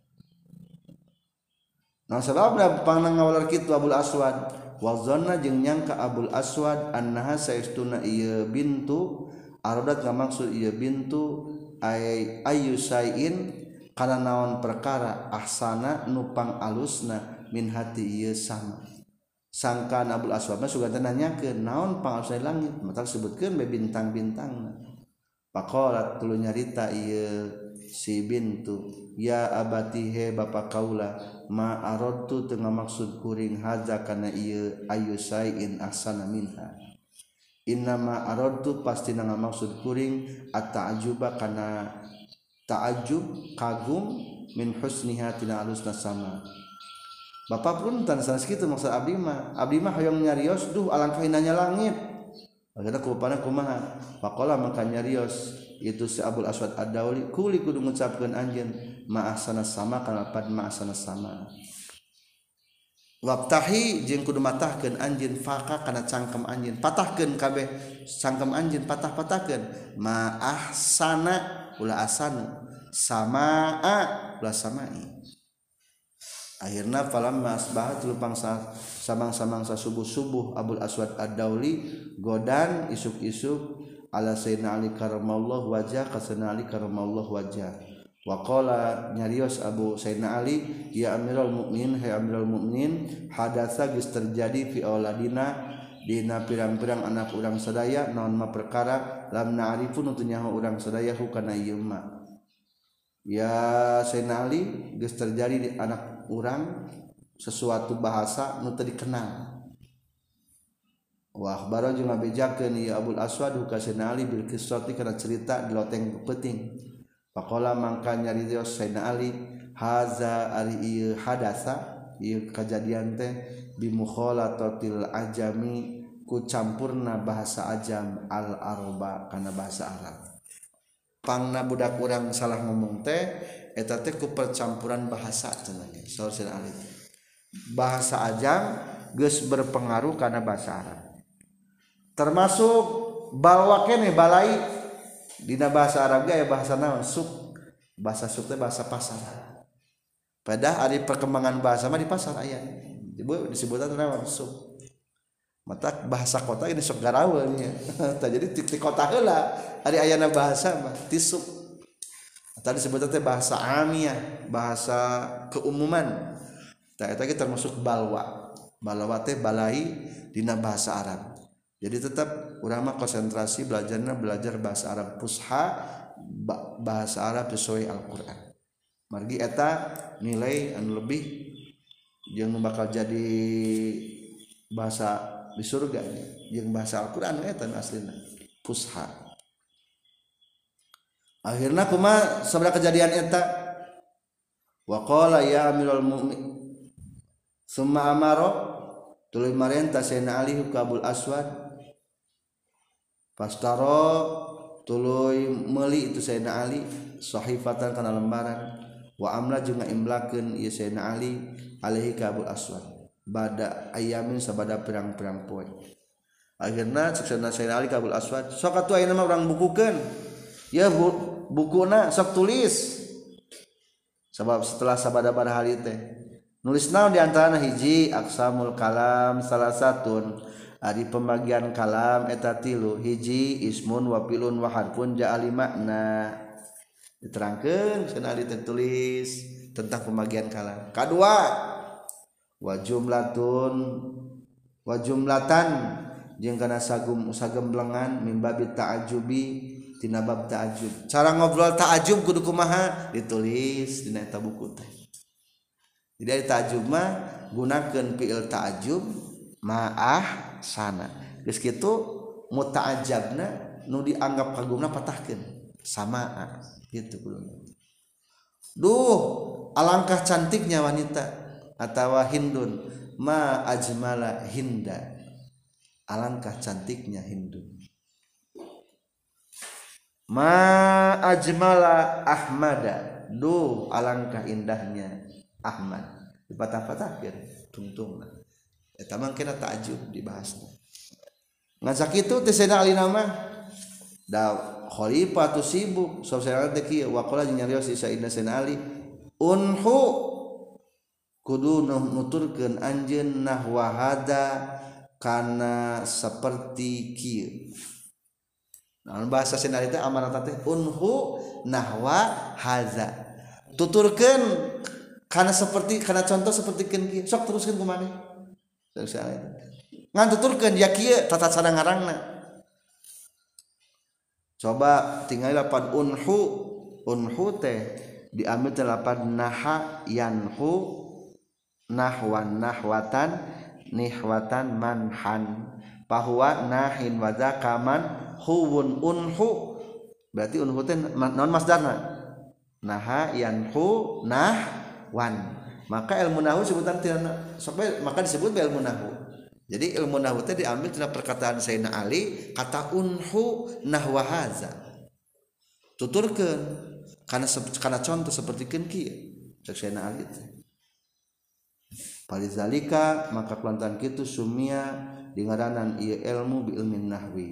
Nah sababna pangangawalar kitu Abul Aswad wa zanna jeung nyangka Abul Aswad annaha saestuna ieu bintu aradat ngamaksud ieu bintu ayyusain kana naon perkara ahsana nupang alusna min hati ieu sama. Sangkan Abul Aswad mah sugan nanyakeun naon pangalusna langit mata sebutkeun be bintang-bintangna. Faqalat tuluy nyarita ieu si bintu ya abati he bapa kaula ma aradtu teu ngamaksud kuring haza kana ieu ayyusain ahsana minha. Innama aradtu pasti ngamaksud kuring at-ta'ajjuba kana ta'ajjub kagum min husniha tina alusna sama. Bapak punten sanes kitu maksud abdi mah hoyong nyarios duh alangkah indahnya langit. Akhirna kupana kumaha? Faqala maka nyarios itu si Abul Aswad Ad-Dauli kuli kudu ngucapkeun anjeun ma ahsana sama kana pad ma ahsana sama. Wabtahi jeung kudu matahkeun anjeun faka kana cangkem anjeun patahkeun kabeh cangkem anjeun patah-patahkeun ma ahsana ulah asanu samaa ulah samai. Akhirna falamma asbahat lupang samang-samang subuh-subuh Abul Aswad Ad-Dauli godan isuk-isuk ala sayyidina Ali karramallahu wajah ka sayyidina Ali karramallahu wajah. Wa qala nyarios Abu Sayyidina Ali ya Amirul Mukminin hai Amirul Mukminin hadatsa geus terjadi fi auladina dina pirang-pirang anak urang sadaya naon ma perkara lam na'rifun utuh nyaho urang sadaya hukana ieu ma. Ya Sayyidina Ali geus terjadi di anak urang sesuatu bahasa nu teu dikenal. Wa akhbaro jeung ngabejakeun ieu Abul Aswad ka Sayyidina Ali bil qissati kana cerita di loteng peuting. Faqala mangka nyarios Sayyidina Ali haza ari ieu hadasa ieu kajadian teh bi mukhalatatil ajami ku campurna bahasa ajam al arba kana bahasa Arab. Pangna budak urang salah ngomong teh eta teh ku percampuran bahasa cenah saur Sayyidina Ali. Bahasa ajam geus berpengaruh kana bahasa Arab. Termasuk balwa keneh balai dina bahasa Arab ge aya bahasa naon suk. Bahasa suk teh bahasa pasar. Padahal ari perkembangan bahasa mah di pasar aya. Disebutna naon suk. Mata bahasa kota ini sok garaweul nya. Tah jadi ti kota heula ari ayana bahasa mah ti suk. Tadi disebutna teh bahasa amiyah, bahasa keumuman. Tah eta ge termasuk balwa. Balwa teh balai dina bahasa Arab. Jadi tetap urang mah konsentrasi belajar bahasa Arab fusha, bahasa Arab sesuai Al-Qur'an. Margi eta nilai anu lebih jeung bakal jadi bahasa di surga jeung bahasa Al-Qur'an eta aslina fusha. akhirna kumaha sabada kejadian eta wa qala ya amirul mukmin summa amaro tuluy marentah Sayyidina Ali ka Abul Aswad pastaro tuluy meuli itu Sayyidina Ali sahifatan kana lembaran wa amla jeung ngaimlakeun ieu Sayyidina Ali alaihi ka Abul Aswad bada ayamin sabada pirang-pirang poe akhirna Sayyidina Ali ka Abul Aswad sok atuh ayeuna mah urang bukukeun ya bukuna sok tulis sebab setelah sabada-bada hari teh nulis naon di antarana hiji aqsamul kalam salah satun ari pembagian kalam eta tilu hiji ismun wa filun wa harfun ja'ali makna diterangkeun cenah ditulis tentang pembagian kalam kadua wa jumlatan jeung kana sagemblengan mim babi ta'ajjubi tina bab ta'ajjub cara ngobrol ta'ajjub kudu kumaha ditulis dina eta buku teh jadi ta'ajjub mah gunakeun fi'il ta'ajjub ma'ah sana geus kitu muta'ajjabna nu dianggap kagumna patahkeun samaa gitu kudu duh alangkah cantiknya wanita atawa hindun ma ajmala hinda alangkah cantiknya hindun ma ajmala ahmada duh alangkah indahnya Ahmad dipatah-patahkeun tungtungna eta mah kena ta'ajjub dibahasna ngan sakitu teh Sayyidina Ali nama da khalifah tu sibuk sausana teh kieu wa qala jeung nyarios Sayyidina Ali unhu kudu nuturkeun anjeun nahwa hada kana saperti kieu nah bahasa Sayyidina Ali teh amanat teh unhu nahwa haza tuturkeun kana seperti kana contoh sapertikeun kieu sok teruskeun kumaneh ngan tuturkeun ya kieu tata cara ngarangna coba tinggal lapan unhu teh diambil teh lapan naha yanhu nahwan nahwatan nihwatan manhan bahwa nahin wa zakaman huwun unhu berarti unhu teh naon masdarna naha yanhu nahwan maka ilmu nahwu sebutan sampai maka disebut ilmu nahwu jadi ilmu nahwu teh diambil tina perkataan Sayyidina Ali kata unhu nahwa haza tuturkeun kana contoh sapertikeun kieu cek Sayyidina Ali teh palizalika maka kelantaran kitu sumia dingaranan ieu ilmu bi ilmin nahwi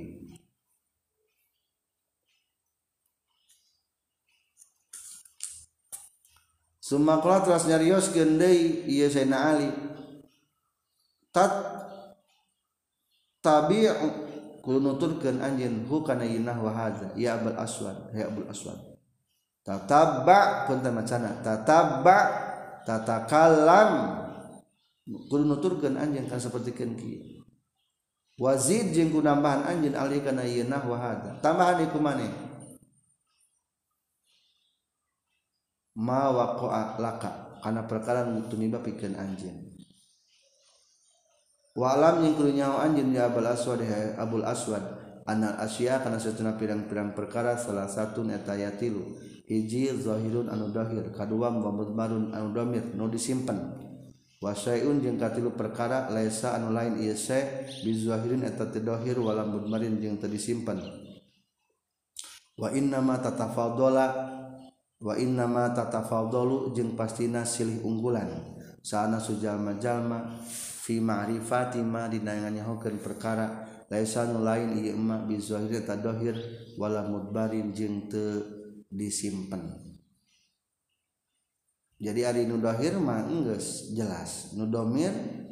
sumakala teras nyarioskeun deui ieu Sayyidina Ali tabi'u kudu nuturkeun anjeun hu kana nahwa haza ya Abul Aswad ya Abul Aswad tatabba punten macana tatabba tatakallam kudu nuturkeun anjeun kana sapertikeun kieu wazid jeung ku nambahan anjeun alih kana ieu nahwa haza tambahan ieu kumaneh ma waqa'a laka kana perkara nu tumiba pikeun anjeun wa alam yang kudu nyaho anjeun ya Abul Aswad anal asya kana satuna pirang-pirang perkara salah satu eta yatilu hiji zahirun anu dahir kadua mudmarun anu dhamir nu disimpen wa syai'un jeung katilu perkara laisa anu lain ieu sa bizahirin eta teu dahir wala mudmarin jeung teu disimpen wa inna ma tatafadalu jeung pastina silih unggulan saana sujalma-jalma fi ma'rifati ma dina nganyahokeun perkara laisa nu lain ieu ma bizahir ta dahir wala mudbarin jeung teu disimpen jadi ari nu dahir mah geus jelas nu dhamir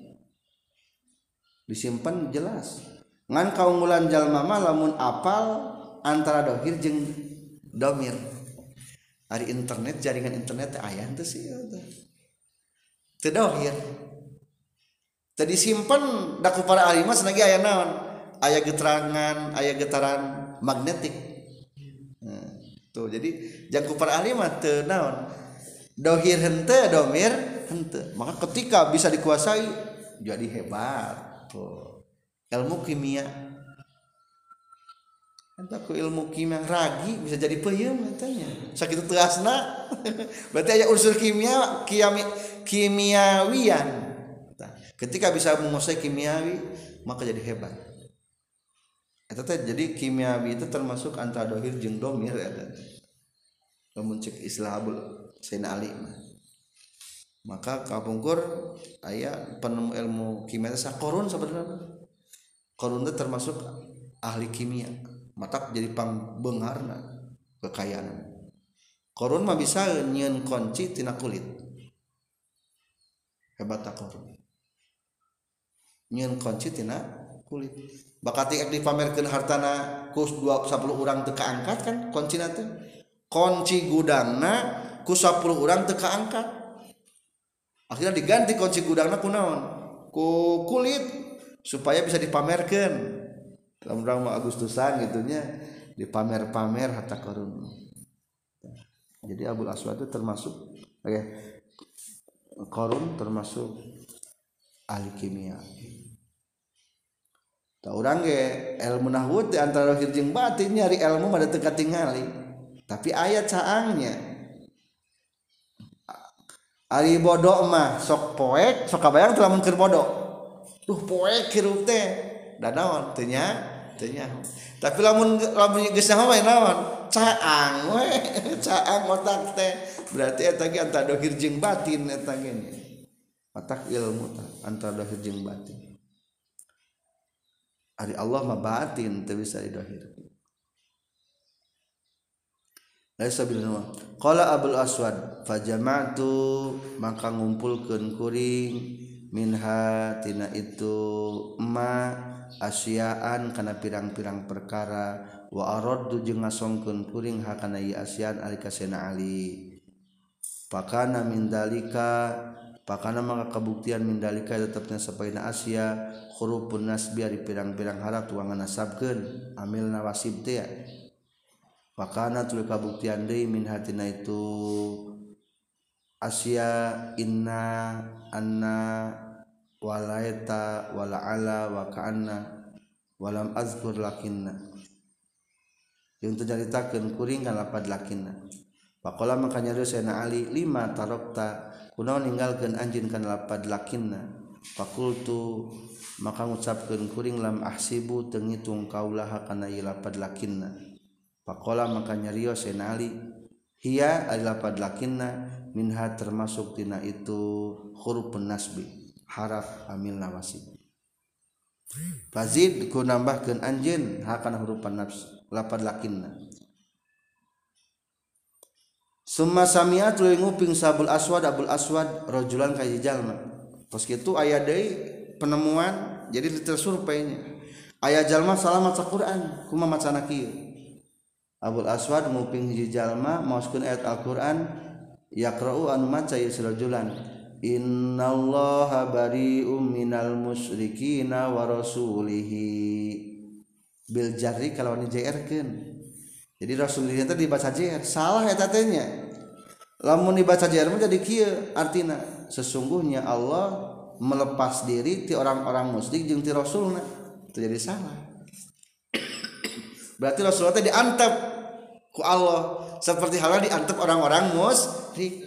disimpen jelas ngan kaunggulan jalma mah lamun apal antara dahir jeung dhamir hari internet jaringan internet aya henteu sih teu dahir teu disimpen da ku para ahli mah sanagi aya naon aya geterangan aya getaran magnetik tuh jadi jang ku para ahli mah teu naon dahir henteu dhamir henteu maka ketika bisa dikuasai jadi hebat tuh ilmu kimia Entah ku ilmu kimia ragi bisa jadi peuyeum katanya. Sakitu teu asna. Berarti aya unsur kimiawian. Ketika bisa menguasai kimiawi maka jadi hebat. Eta teh jadi kimiawi itu termasuk antara dohir jeung domir eta. Lamun cek Islahul Sayyidina Ali maka kapungkur aya penemu ilmu kimia teh Qarun sebenarnya. Qarun teh termasuk ahli kimia. Matak jadi pangbeungharna kekayaan. Qarun mah bisa nyieun kunci tina kulit. Hebat tak Qarun. Nyieun kunci tina kulit. Bakati dipamerkeun hartana ku 10 urang teu kaangkat kan kuncina teh. Kunci gudangna ku 10 urang teu kaangkat. Akhirnya diganti kunci gudangna ku naon? Ku kulit supaya bisa dipamerkeun. Lamun mah Agustusan gitunya dipamer-pamer harta karun. Jadi Abul Aswad itu termasuk Qarun termasuk ahli kimia. Tah urang ge ilmu nahwu teh antara lahir jeung batin nyari ilmu mah teu katingali. Tapi aya caangnya. Ari bodoh mah sok poek, sok kabayang teu lamun keur bodoh. Duh poek hirup teh. Da naon teu nya? Tapi lamun geus mah naon? Caang we, caang otak teh. Berarti eta ge antara dohir jeung batin eta ge. Otak ilmu antara dohir jeung batin. Ari Allah mah batin teu bisa didohir. Laisa bilna. Qala Abul Aswad fajama'tu maka ngumpulkeun kuring minha tina itu ma asyaan kana pirang-pirang perkara wa araddu jeung ngasongkeun kuring hakana ieu asyaan alika Sayyidina Ali. Pakana min dalika pakana maka kabuktian min dalika tetepna sapaina asya hurufun nasbi ari pirang-pirang haraf wa nganasabkeun amilna wasib teh. Pakana tuluy kabuktian deui min hatina itu asya inna anna walaita walaala wa ka'anna walam azkur lakinna yang terjaritakeun kuring kan lapad lakinna. Faqala maka nyarios Sayyidina Ali lima tarokta kunaon ninggalkeun anjeun kan lapad lakinna. Faqultu maka ngucapkeun kuring lam ahsibu teu ngitung kaulaha kana ieu lapad lakinna. Faqala maka nyarios Sayyidina Ali hiya ari lapad lakinna minha termasuk tina itu hurufun nasbi haraf amil nawasib. Fazid ku nambahkeun anjeun hakana hurufan nafs lapad lakinna. Summa sami'at tuluy nguping Abul Aswad rajulan ka jalma. Tos kitu aya deui penemuan jadi tersurveinya. Aya jalma salah maca Quran kumaha macana kieu. Abul Aswad nguping hiji jalma maoskeun ayat Al-Qur'an yaqra'u anu maca ieu rajulan innallaha bari'um minal musyrikina wa rasulihi bil jarri kalau dijerkeun. Jadi rasulullah teh dibaca jer salah eta teh nya. Lamun dibaca jer mah jadi kieu artina sesungguhnya Allah melepas diri ti orang-orang musyrik jeung ti rasulna. Itu jadi salah. Berarti rasulullah teh diantep ku Allah seperti halnya diantep orang-orang musyrik.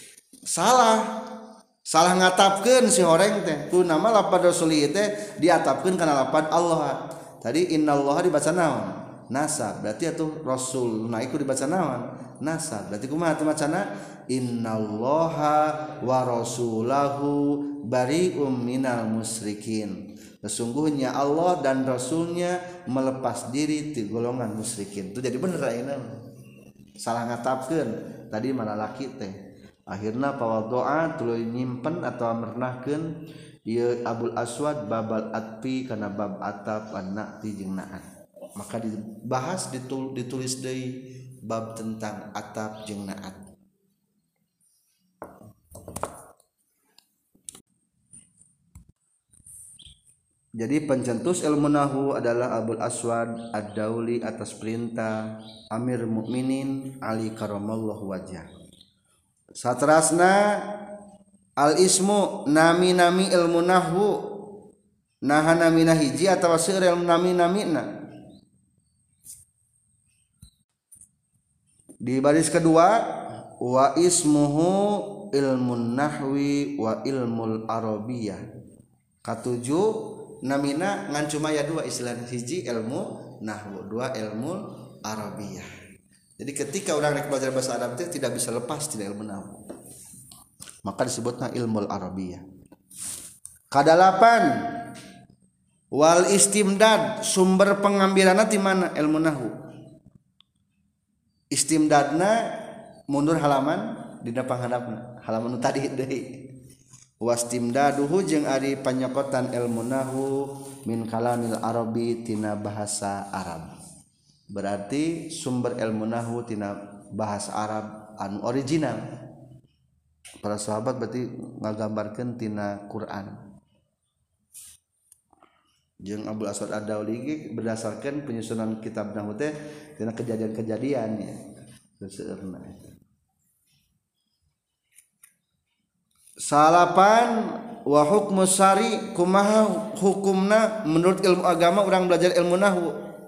Salah ngatapkeun si horeng teh ku nama lapad rasulih teh diatapkeun kana lapad Allah. Tadi innallaha dibaca naon? Nasab. Berarti atuh rasul nah iku dibaca naon? Nasab. Berarti kumaha teh macana? Innallaha wa rasulahu bari'um minal musyrikin. Sesungguhnya Allah dan rasulnya melepas diri ti golongan musyrikin. Itu jadi bener ayeuna. Salah ngatapkeun. Tadi mana laki teh. Akhirna pawaddoa tuluy nyimpen atau mernahkeun ieu Abul Aswad babal atpi kana bab atap an-na'ti jeung na'at. Maka dibahas ditulis deui bab tentang atap jeung na'at. Jadi pencetus ilmu nahwu adalah Abul Aswad Ad-Dauli atas perintah Amir Mukminin Ali karramallahu wajhah. Saterasna al-ismu nami-nami ilmu nahwu naha namina hiji atawa seueur ilmu nami-namina. Di baris kedua wa ismuhu ilmun nahwi wa ilmul arabiyah. Katujuh namina ngan cuma ya dua istilah, hiji ilmu nahwu, dua ilmu arabiyah. Jadi ketika orang rek belajar bahasa Arab itu tidak bisa lepas dari ilmu nahwu, maka disebutnya ilmu arabiyah. Kadalapan wal istimdad, sumber pengambilanna di mana ilmu nahwu. Istimdadna mundur halaman dina panghandapna, halaman tadi deui. Wastimdaduhu jeung ari panyokotan ilmu nahwu min kalamil arabi tina bahasa Arab. Berarti sumber ilmu nahwu tina bahasa Arab anu original. Para sahabat berarti ngagambarkeun tina Quran. Jeung Abdul Aswad Ad-Dauli berdasarkan penyusunan kitab nahwu teh tina kejadian-kejadian ya. Seueurna eta. Salapan wa hukmu syari, kumaha hukumna menurut ilmu agama orang belajar ilmu nahwu.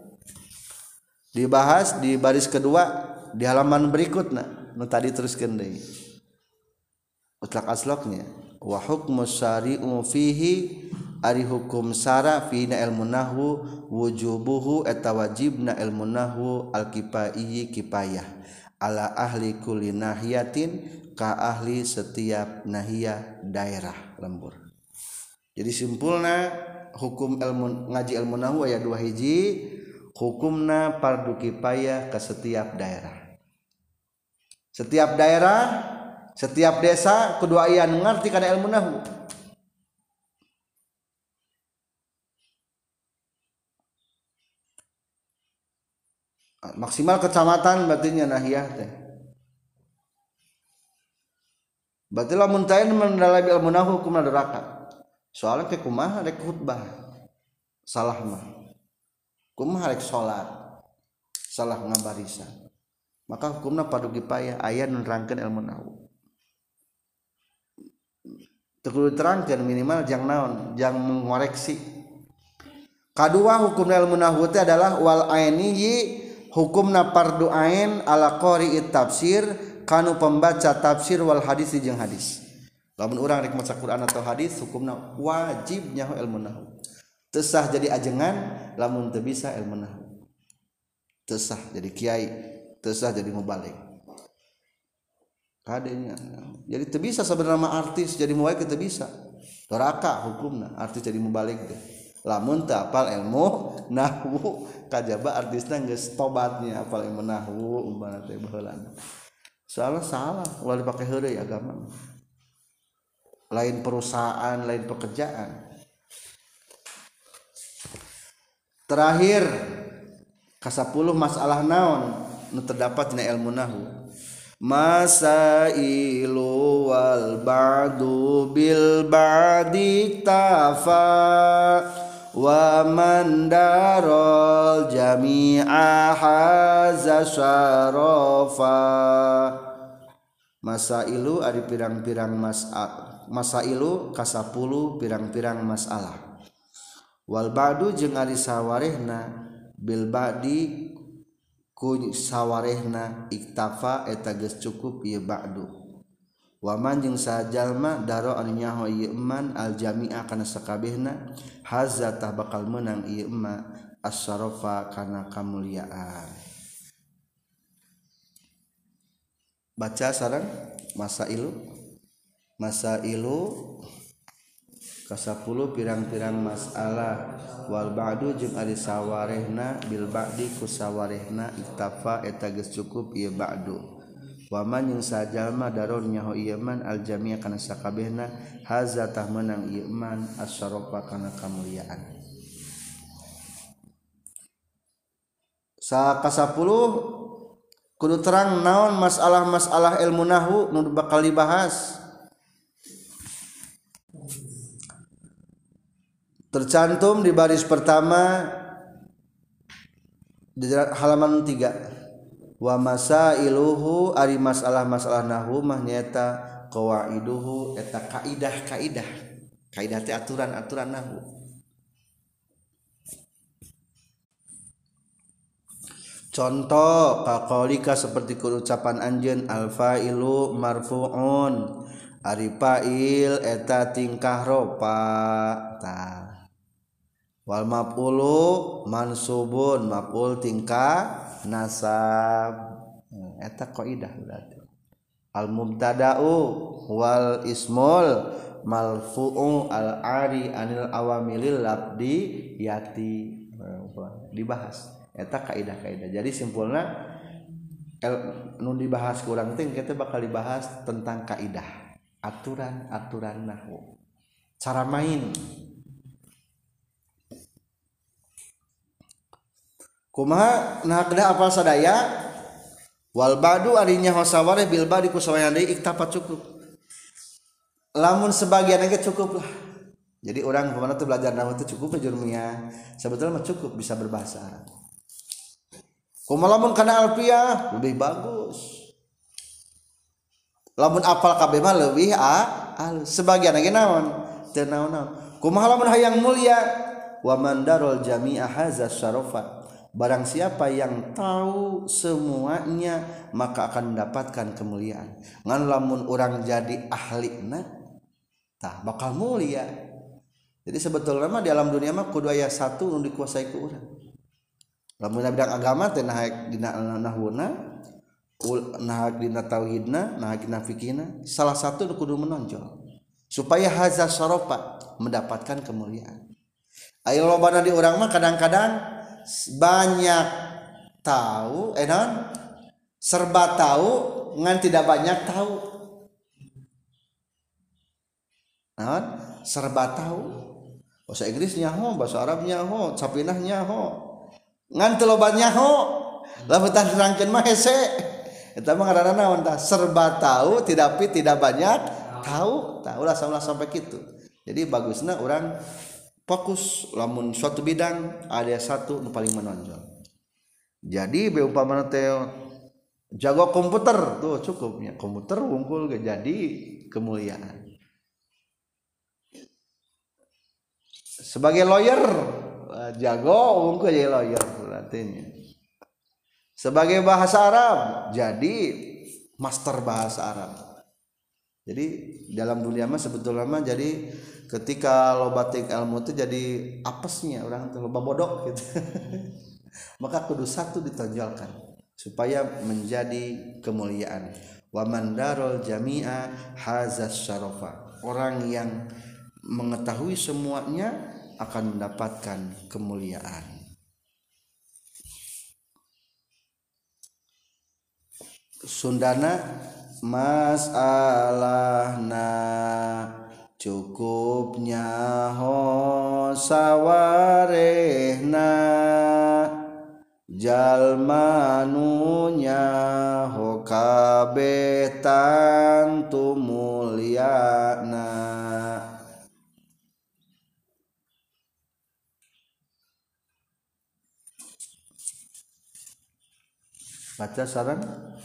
Dibahas di baris kedua di halaman berikutna. Nu tadi teruskeun deui. Utlaq asloknya wa hukmu syari'u fihi, ari hukum syara fi ilmu nahwu wujubuhu eta wajibna ilmu nahwu al-kifai kifayah ala ahli kulli nahiyatin ka ahli setiap nahiyah daerah lembur. Jadi simpulna hukum ilmu ngaji ilmu nahwu aya dua, hiji hukumna fardu kifayah ke setiap daerah. Setiap daerah, setiap desa kudu aya nu ngarti kana ilmu nahwu. Maksimal kecamatan berarti nahiyah teh. Berarti lamun teu mendalami ilmu nahwu hukumna neraka. Soalnya ke kumaha rek khutbah salah mah. Kumaha rek salat salah ngabarisan. Maka hukumna fardu kifayah aya nu nerangkeun ilmu nahwu. Teu kudu terangkeun, minimal jang naon, jang mengoreksi. Kadua hukumna ilmu nahwu teh adalah wal aini, hukumna fardu ain ala qari'it tafsir, kanu pembaca tafsir wal hadis jeung hadis. Lamun urang rek maca Quran atau hadis hukumna wajib nyaho ilmu nahwu. Teu sah jadi ajengan lamun teu bisa ilmu nahwu. Teu sah jadi kiai, teu sah jadi mubalik. Kadenya. Jadi teu bisa sebenarnya artis jadi mubalig teu bisa. Doraka hukumna artis jadi mubalik teh. Lamun teu apal ilmu nahwu, kajaba artisna geus tobatnya apal ilmu nahwu umpama teh baheulana. Salah ulah dipake heureuy agama. Lain perusahaan, lain pekerjaan. Terakhir ka-10 masalah naon nu terdapat dina ilmu nahwu. Masailu wal ba'du bil ba'di tafa wa man darol jami'a haza syarafa. Masailu ari pirang-pirang masailu ka-10 pirang-pirang masalah. Wal ba'du jeung ari sawarehna bil ba'di ku sawarehna iktafa eta geus cukup ieu ba'du. Wa man jeung sajalma daro anu nyaho ieu eman al jami'a kana sakabehna hazza tah bakal meunang ieu emma as-syarafa kana kamuliaan. Baca sareng masailu ka-10 pirang-pirang masalah wal ba'du jeung ari sawarehna bil ba'di ku sawarehna iktafa eta geus cukup ieu ba'du. Wa man jeung sajalma daron nyaho ieu man al jami' kana sakabehna hazza tah meunang ieu man as-syarafa kana kamuliaan. Ka-10 kudu terang naon masalah-masalah ilmu nahwu nu bakal dibahas. Tercantum di baris pertama di halaman 3. Wa masailuhu ari masalah-masalah nahwu mah nyaeta qawaiduhu eta kaidah-kaidah. Kaidah teh aturan-aturan nahwu. contoh kaqaulika seperti ucapan anjeun al-fa'ilu marfu'un ari fa'il eta tingkah ropa tah wal maf'ulu mansubun maf'ul tingkah nasab eta qaidah berarti al mubtada'u wal ismul malfu'u al ari anil awamilil labdi yati dibahas eta kaidah-kaidah. Jadi simpulna nu dibahas kurang teh kita bakal dibahas tentang kaidah, aturan-aturan nahwu. Cara main. Kumaha nah kada apal sadaya wal badu arinya hosawareh bil badi kusawayan deui iktapat cukup. Lamun sebagian ge cukup lah. Jadi orang pemana tuh belajar nahwu itu cukup jurumnya. Sebetulnya mah cukup bisa berbahasa Arab. Kumalamun kana alfiah lebih bagus. Lamun apal kabeh mah leuwih sebagian lagi naon? Teu naon-naon. Kumaha lamun hayang mulia wa mandarul jami'a hadza syarafa. Barang siapa yang tahu semuanya maka akan mendapatkan kemuliaan. Ngan lamun orang jadi ahlina tah bakal mulia. Jadi sebetulnya mah di alam dunia mah kudu aya satu nu dikuasai ku urang. Lamun bidang agama teh naik dina nahwuna, naik dina tauhidna, naik dina fikihna, salah satu kudu menonjol supaya hadza syarafa mendapatkan kemuliaan. Aya lobana di urang mah kadang-kadang banyak tahu non serba tahu ngan tidak banyak tahu. Non serba tahu. Bahasa Inggrisnya ho, bahasa Arabnya ho, sapinahnya ho. Ngan teu loba nyaho lamun tah nerangkeun mah hese eta mah ngaranna naon tah serba tahu tidak banyak tahu ulah sampai kitu. Jadi bagusna orang fokus lamun suatu bidang ada satu nu paling menonjol. Jadi beumpamana teh jago komputer tuh cukupnya komputer wungkul ge jadi kemuliaan. Sebagai lawyer jago unggul jadi lawyer artinya. Sebagai bahasa Arab jadi master bahasa Arab. Jadi dalam dunia mah sebetulnya mah jadi ketika loba tik ilmu itu jadi apesnya orang tuh loba bodoh gitu. Maka kudu satu ditonjolkan supaya menjadi kemuliaan. Wa mandarul jami'a hazas syarafa. Orang yang mengetahui semuanya akan mendapatkan kemuliaan. Sundana masalahna cukupnya ho sawarehna jalma nunya ho kabeh tantu mulyana. Baca sareng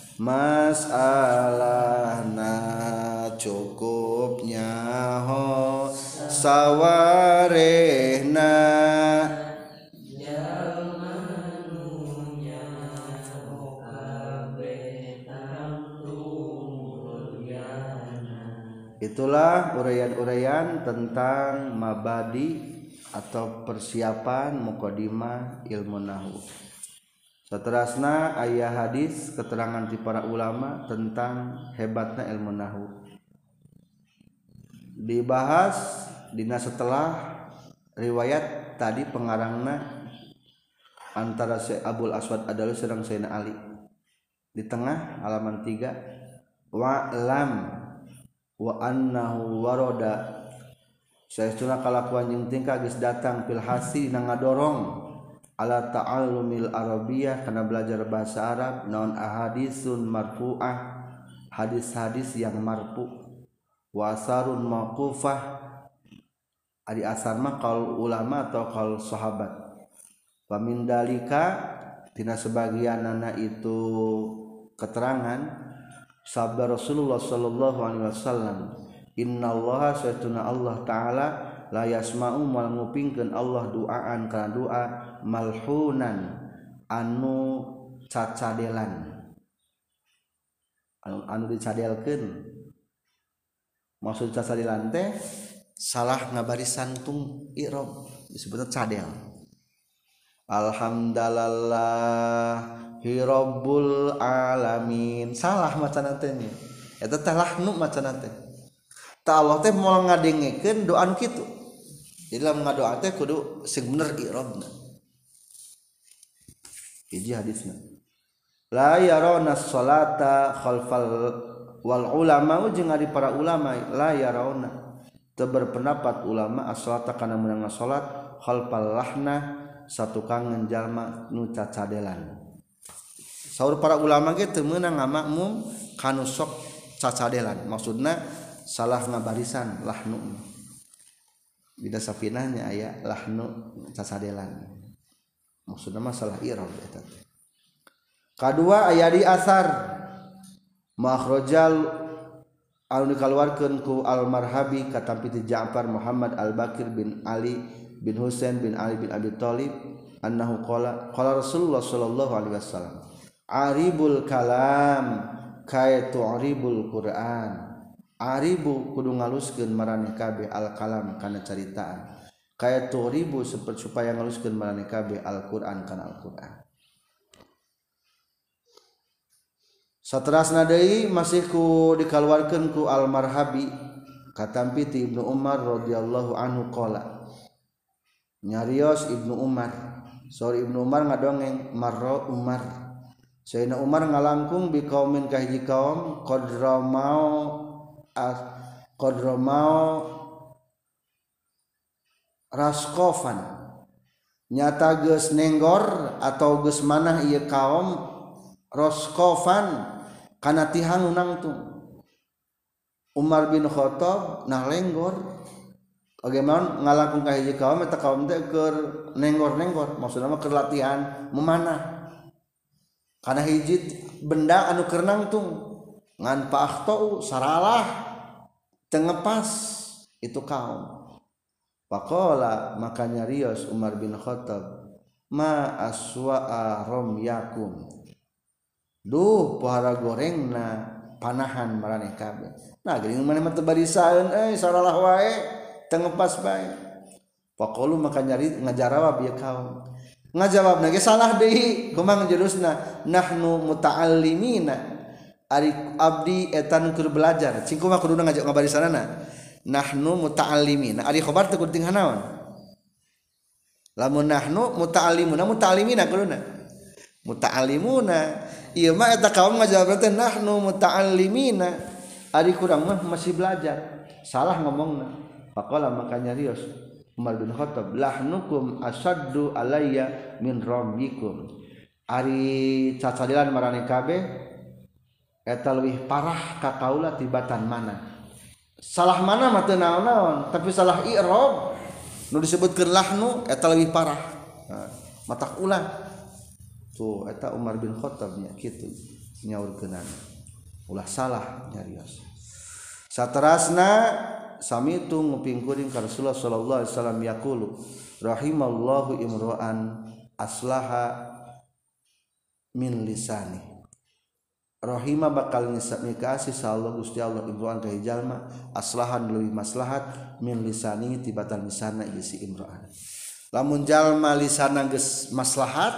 masalahna cukupnya ho sawarehna jalma nunya ho kabeh tantu mulyana. Itulah uraian-uraian tentang mabadi atau persiapan muqaddimah ilmu nahwu. Saterasna aya hadis keterangan ti para ulama tentang hebatna ilmu nahwu. Dibahas dina setelah riwayat tadi pengarangna antara Syekh Abul Aswad Adalu sareng Sayyidina Ali. Di tengah halaman 3 wa lam wa annahu warada saestuna kalakuan jeung tingkah geus datang fil hasi na ngadorong ala ta'allumil arabiyyah kana belajar bahasa Arab naon ahadisun marfu'ah hadis-hadis yang marfu wa asarun mauqufah ari asar mah qaul ulama atau qaul sahabat wa min dalika tina sebagianna itu keterangan sabda Rasulullah sallallahu alaihi wasallam innallaha satuna Allah taala la yasma'u mal ngupingkeun Allah duaan kana doa malhunan anu cacadelan anu dicadelkeun maksud cacadelan teh salah ngabarisan tung i'rab disebutna cadel. Alhamdulillahi rabbul alamin salah macana teh nya eta teh lahnu macana teh ta Allah teh moal ngadengekeun doa nu kitu jadi lamun ngadoa teh kudu sing bener i'rabna. Hiji hadisna la yarawna sholata khalfal wal ulama jeung ari para ulama la yarawna teu berpendapat ulama as-sholata kana meunang salat khalfal lahna satukang jalma nu cacadelan. Saur para ulama ge teu meunang ngamakmum kanu sok cacadelan maksudna salah ngabarisan lahnu bida sapinahnya aya lahnu cacadelan maksudna masalah i'rab eta. Kadua aya di asar makhrajal anu dikaluarkeun ku al-Marhabi katampi ti Ja'far Muhammad al-Bakir bin Ali bin Husain bin Ali bin Abi Thalib annahu qala Rasulullah sallallahu alaihi wasallam aribul kalam kaya tu'ribul Qur'an. Aribu kudu ngaluskeun maraneh kabeh al kalam kana caritaan kaya tu'ribu supaya ngaluskeun maraneh kabeh al-Qur'an kana Al-Qur'an. Saterasna deui masih ku dikaluarkeun ku al-Marhabi katampi ti Ibnu Umar radhiyallahu anhu qala nyarios Ibnu Umar sorry Ibnu Umar ngadongeng marra Umar Sayyidina Umar ngalangkung bi qaumin ka hiji kaum qadramau raskofan nyata geus nenggor atau geus manah ieu kaum raskofan kana tihang nangtung. Umar bin Khattab nah lenggor bagaimana ngalangkung ka hiji kaum eta kaum teh keur nenggor-nenggor maksudna mah keur latihan memanah kana hiji benda anu keur nangtung ngan pa'akhtou saralah teu ngepas itu kaum. Faqala maka nyarios Umar bin Khattab ma aswa'a ramyakum duh pohara gorengna panahan maraneh kabeh. Nah geuning maneh mah teu barisaeun saralah wae teu ngepas bae. Faqalu maka nyari ngajarawab ieu kaum. Ngajawabna ge salah deui kumaha jurusna nahnu muta'allimina ari abdi eta nu keur belajar cing kumaha kuduna ngabarisanana nahnu muta'allimina ari khobar teu kudu tinggal naon lamun nahnu muta'allimina kuduna muta'allimuna ieu mah eta kaum ngajawab teh nahnu muta'allimina ari kurang mah masih belajar salah ngomongna. Faqala maka nyarios Umar bin Khattab lahnukum asaddu alayya min ramyikum ari cacadelan maraneh kabeh eta leuwih parah ka kaula tibatan mana salah mana mah teu naon-naon tapi salah i'rab nu disebutkeun lahnu eta leuwih parah matak ulah tuh eta Umar bin Khattab nya kitu nyaurkeunana ulah salah nyarios. Saterasna sami tu nguping kuring ka Rasulullah sallallahu alaihi wasallam yaqulu rahimallahu imra'an aslaha min lisani rahima bakal nikasi sallallahu Gusti Allah imra'an ka jalma aslahan leuwih maslahat min lisani tibatan lisanna ieu si imra'an. Lamun jalma lisanna geus maslahat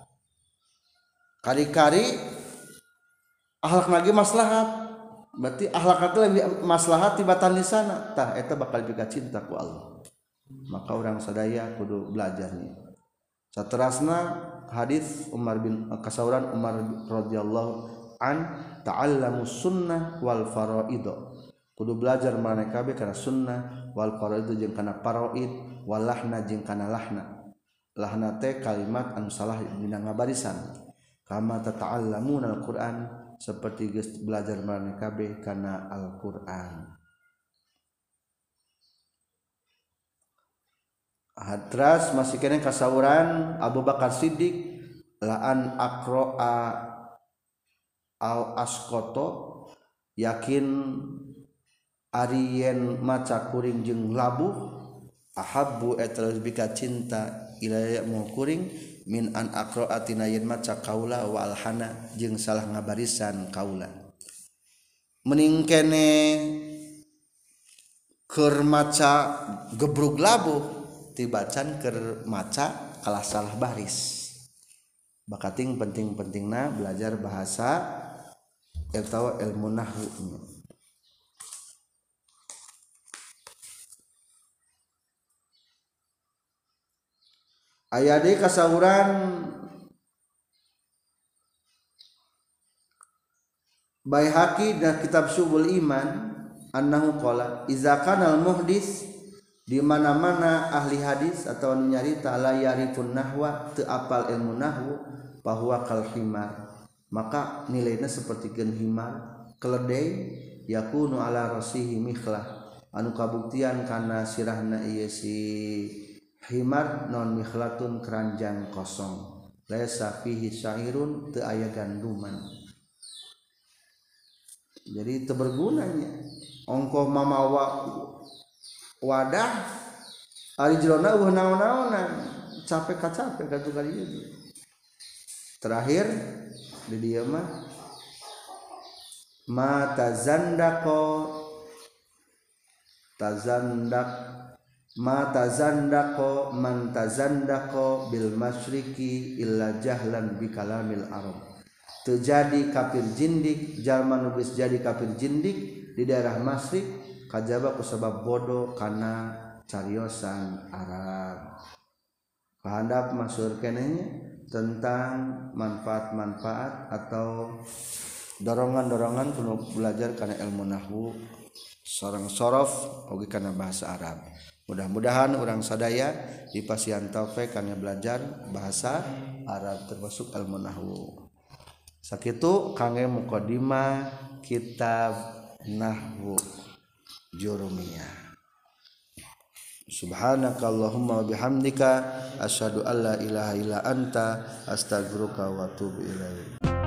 kari-kari akhlakna ge maslahat berarti akhlak itu lebih maslahat tibatan lisana tah eta bakal juga cinta ku Allah maka orang sadaya kudu belajarnya. Saterasna hadis Umar bin kasauran Umar radhiyallahu an ta'allamus sunnah wal faraid kudu belajar maneh kabeh kana sunnah wal faraid jeung kana faraid wal lahna jeung kana lahna teh kalimat anu salah dina ngabarisan kama tata'allamuna al-Qur'an seperti geus belajar maneh kabeh kana Al-Qur'an. Hadras masih kene kasauran Abu Bakar Siddiq laan aqra'a au asqata yakin ari yen maca kuring jeung labuh ahabbu eta lebih ka cinta ilaya mau kuring min an aqra'atina yen maca kaula wa alhana jeung salah ngabarisan kaula mending kene keur maca gebrug labuh tibacan keur maca kalah salah baris bakating penting-pentingna belajar bahasa atawa ilmu nahwu. Aya deui kasauran Baihaqi dan kitab Syubul Iman annahu qala iza kana al muhdis di mana-mana ahli hadis atau nyarita la yarifun nahwa teu apal ilmu nahwu bahwa kal himar maka nilainya seperti gen himar keledai yakunu ala rasihi mikhlah anu kabuktian kana sirahna ieu si himar non mikhlatun keranjang kosong laisa fihi syairun teu aya ganduman jadi teu bergunanya ongkoh mamawa wadah ari jerona eueuh naon-naonan capek katu kali ieu terakhir di dieu mah tazandaqo man tazandaqo bil masyriqi illa jahlan bi kalamil arab terjadi kafir jindik jalma nu geus jadi kafir jindik di daerah masyriq kajaba ku sabab bodoh kana cariosan Arab pahandap masyhur kenehnya tentang manfaat-manfaat atau dorongan-dorongan kuno belajar kana ilmu nahwu sareng sorof oge kana bahasa Arab. Mudah-mudahan orang sadaya dipasihan taufik kana belajar bahasa Arab termasuk ilmu nahwu. Sakitu kangge mukadimah kitab nahwu jurumiyah. Subhanakallahumma wa bihamdika asyhadu an la ilaha illa anta astaghfiruka wa atubu ilaik.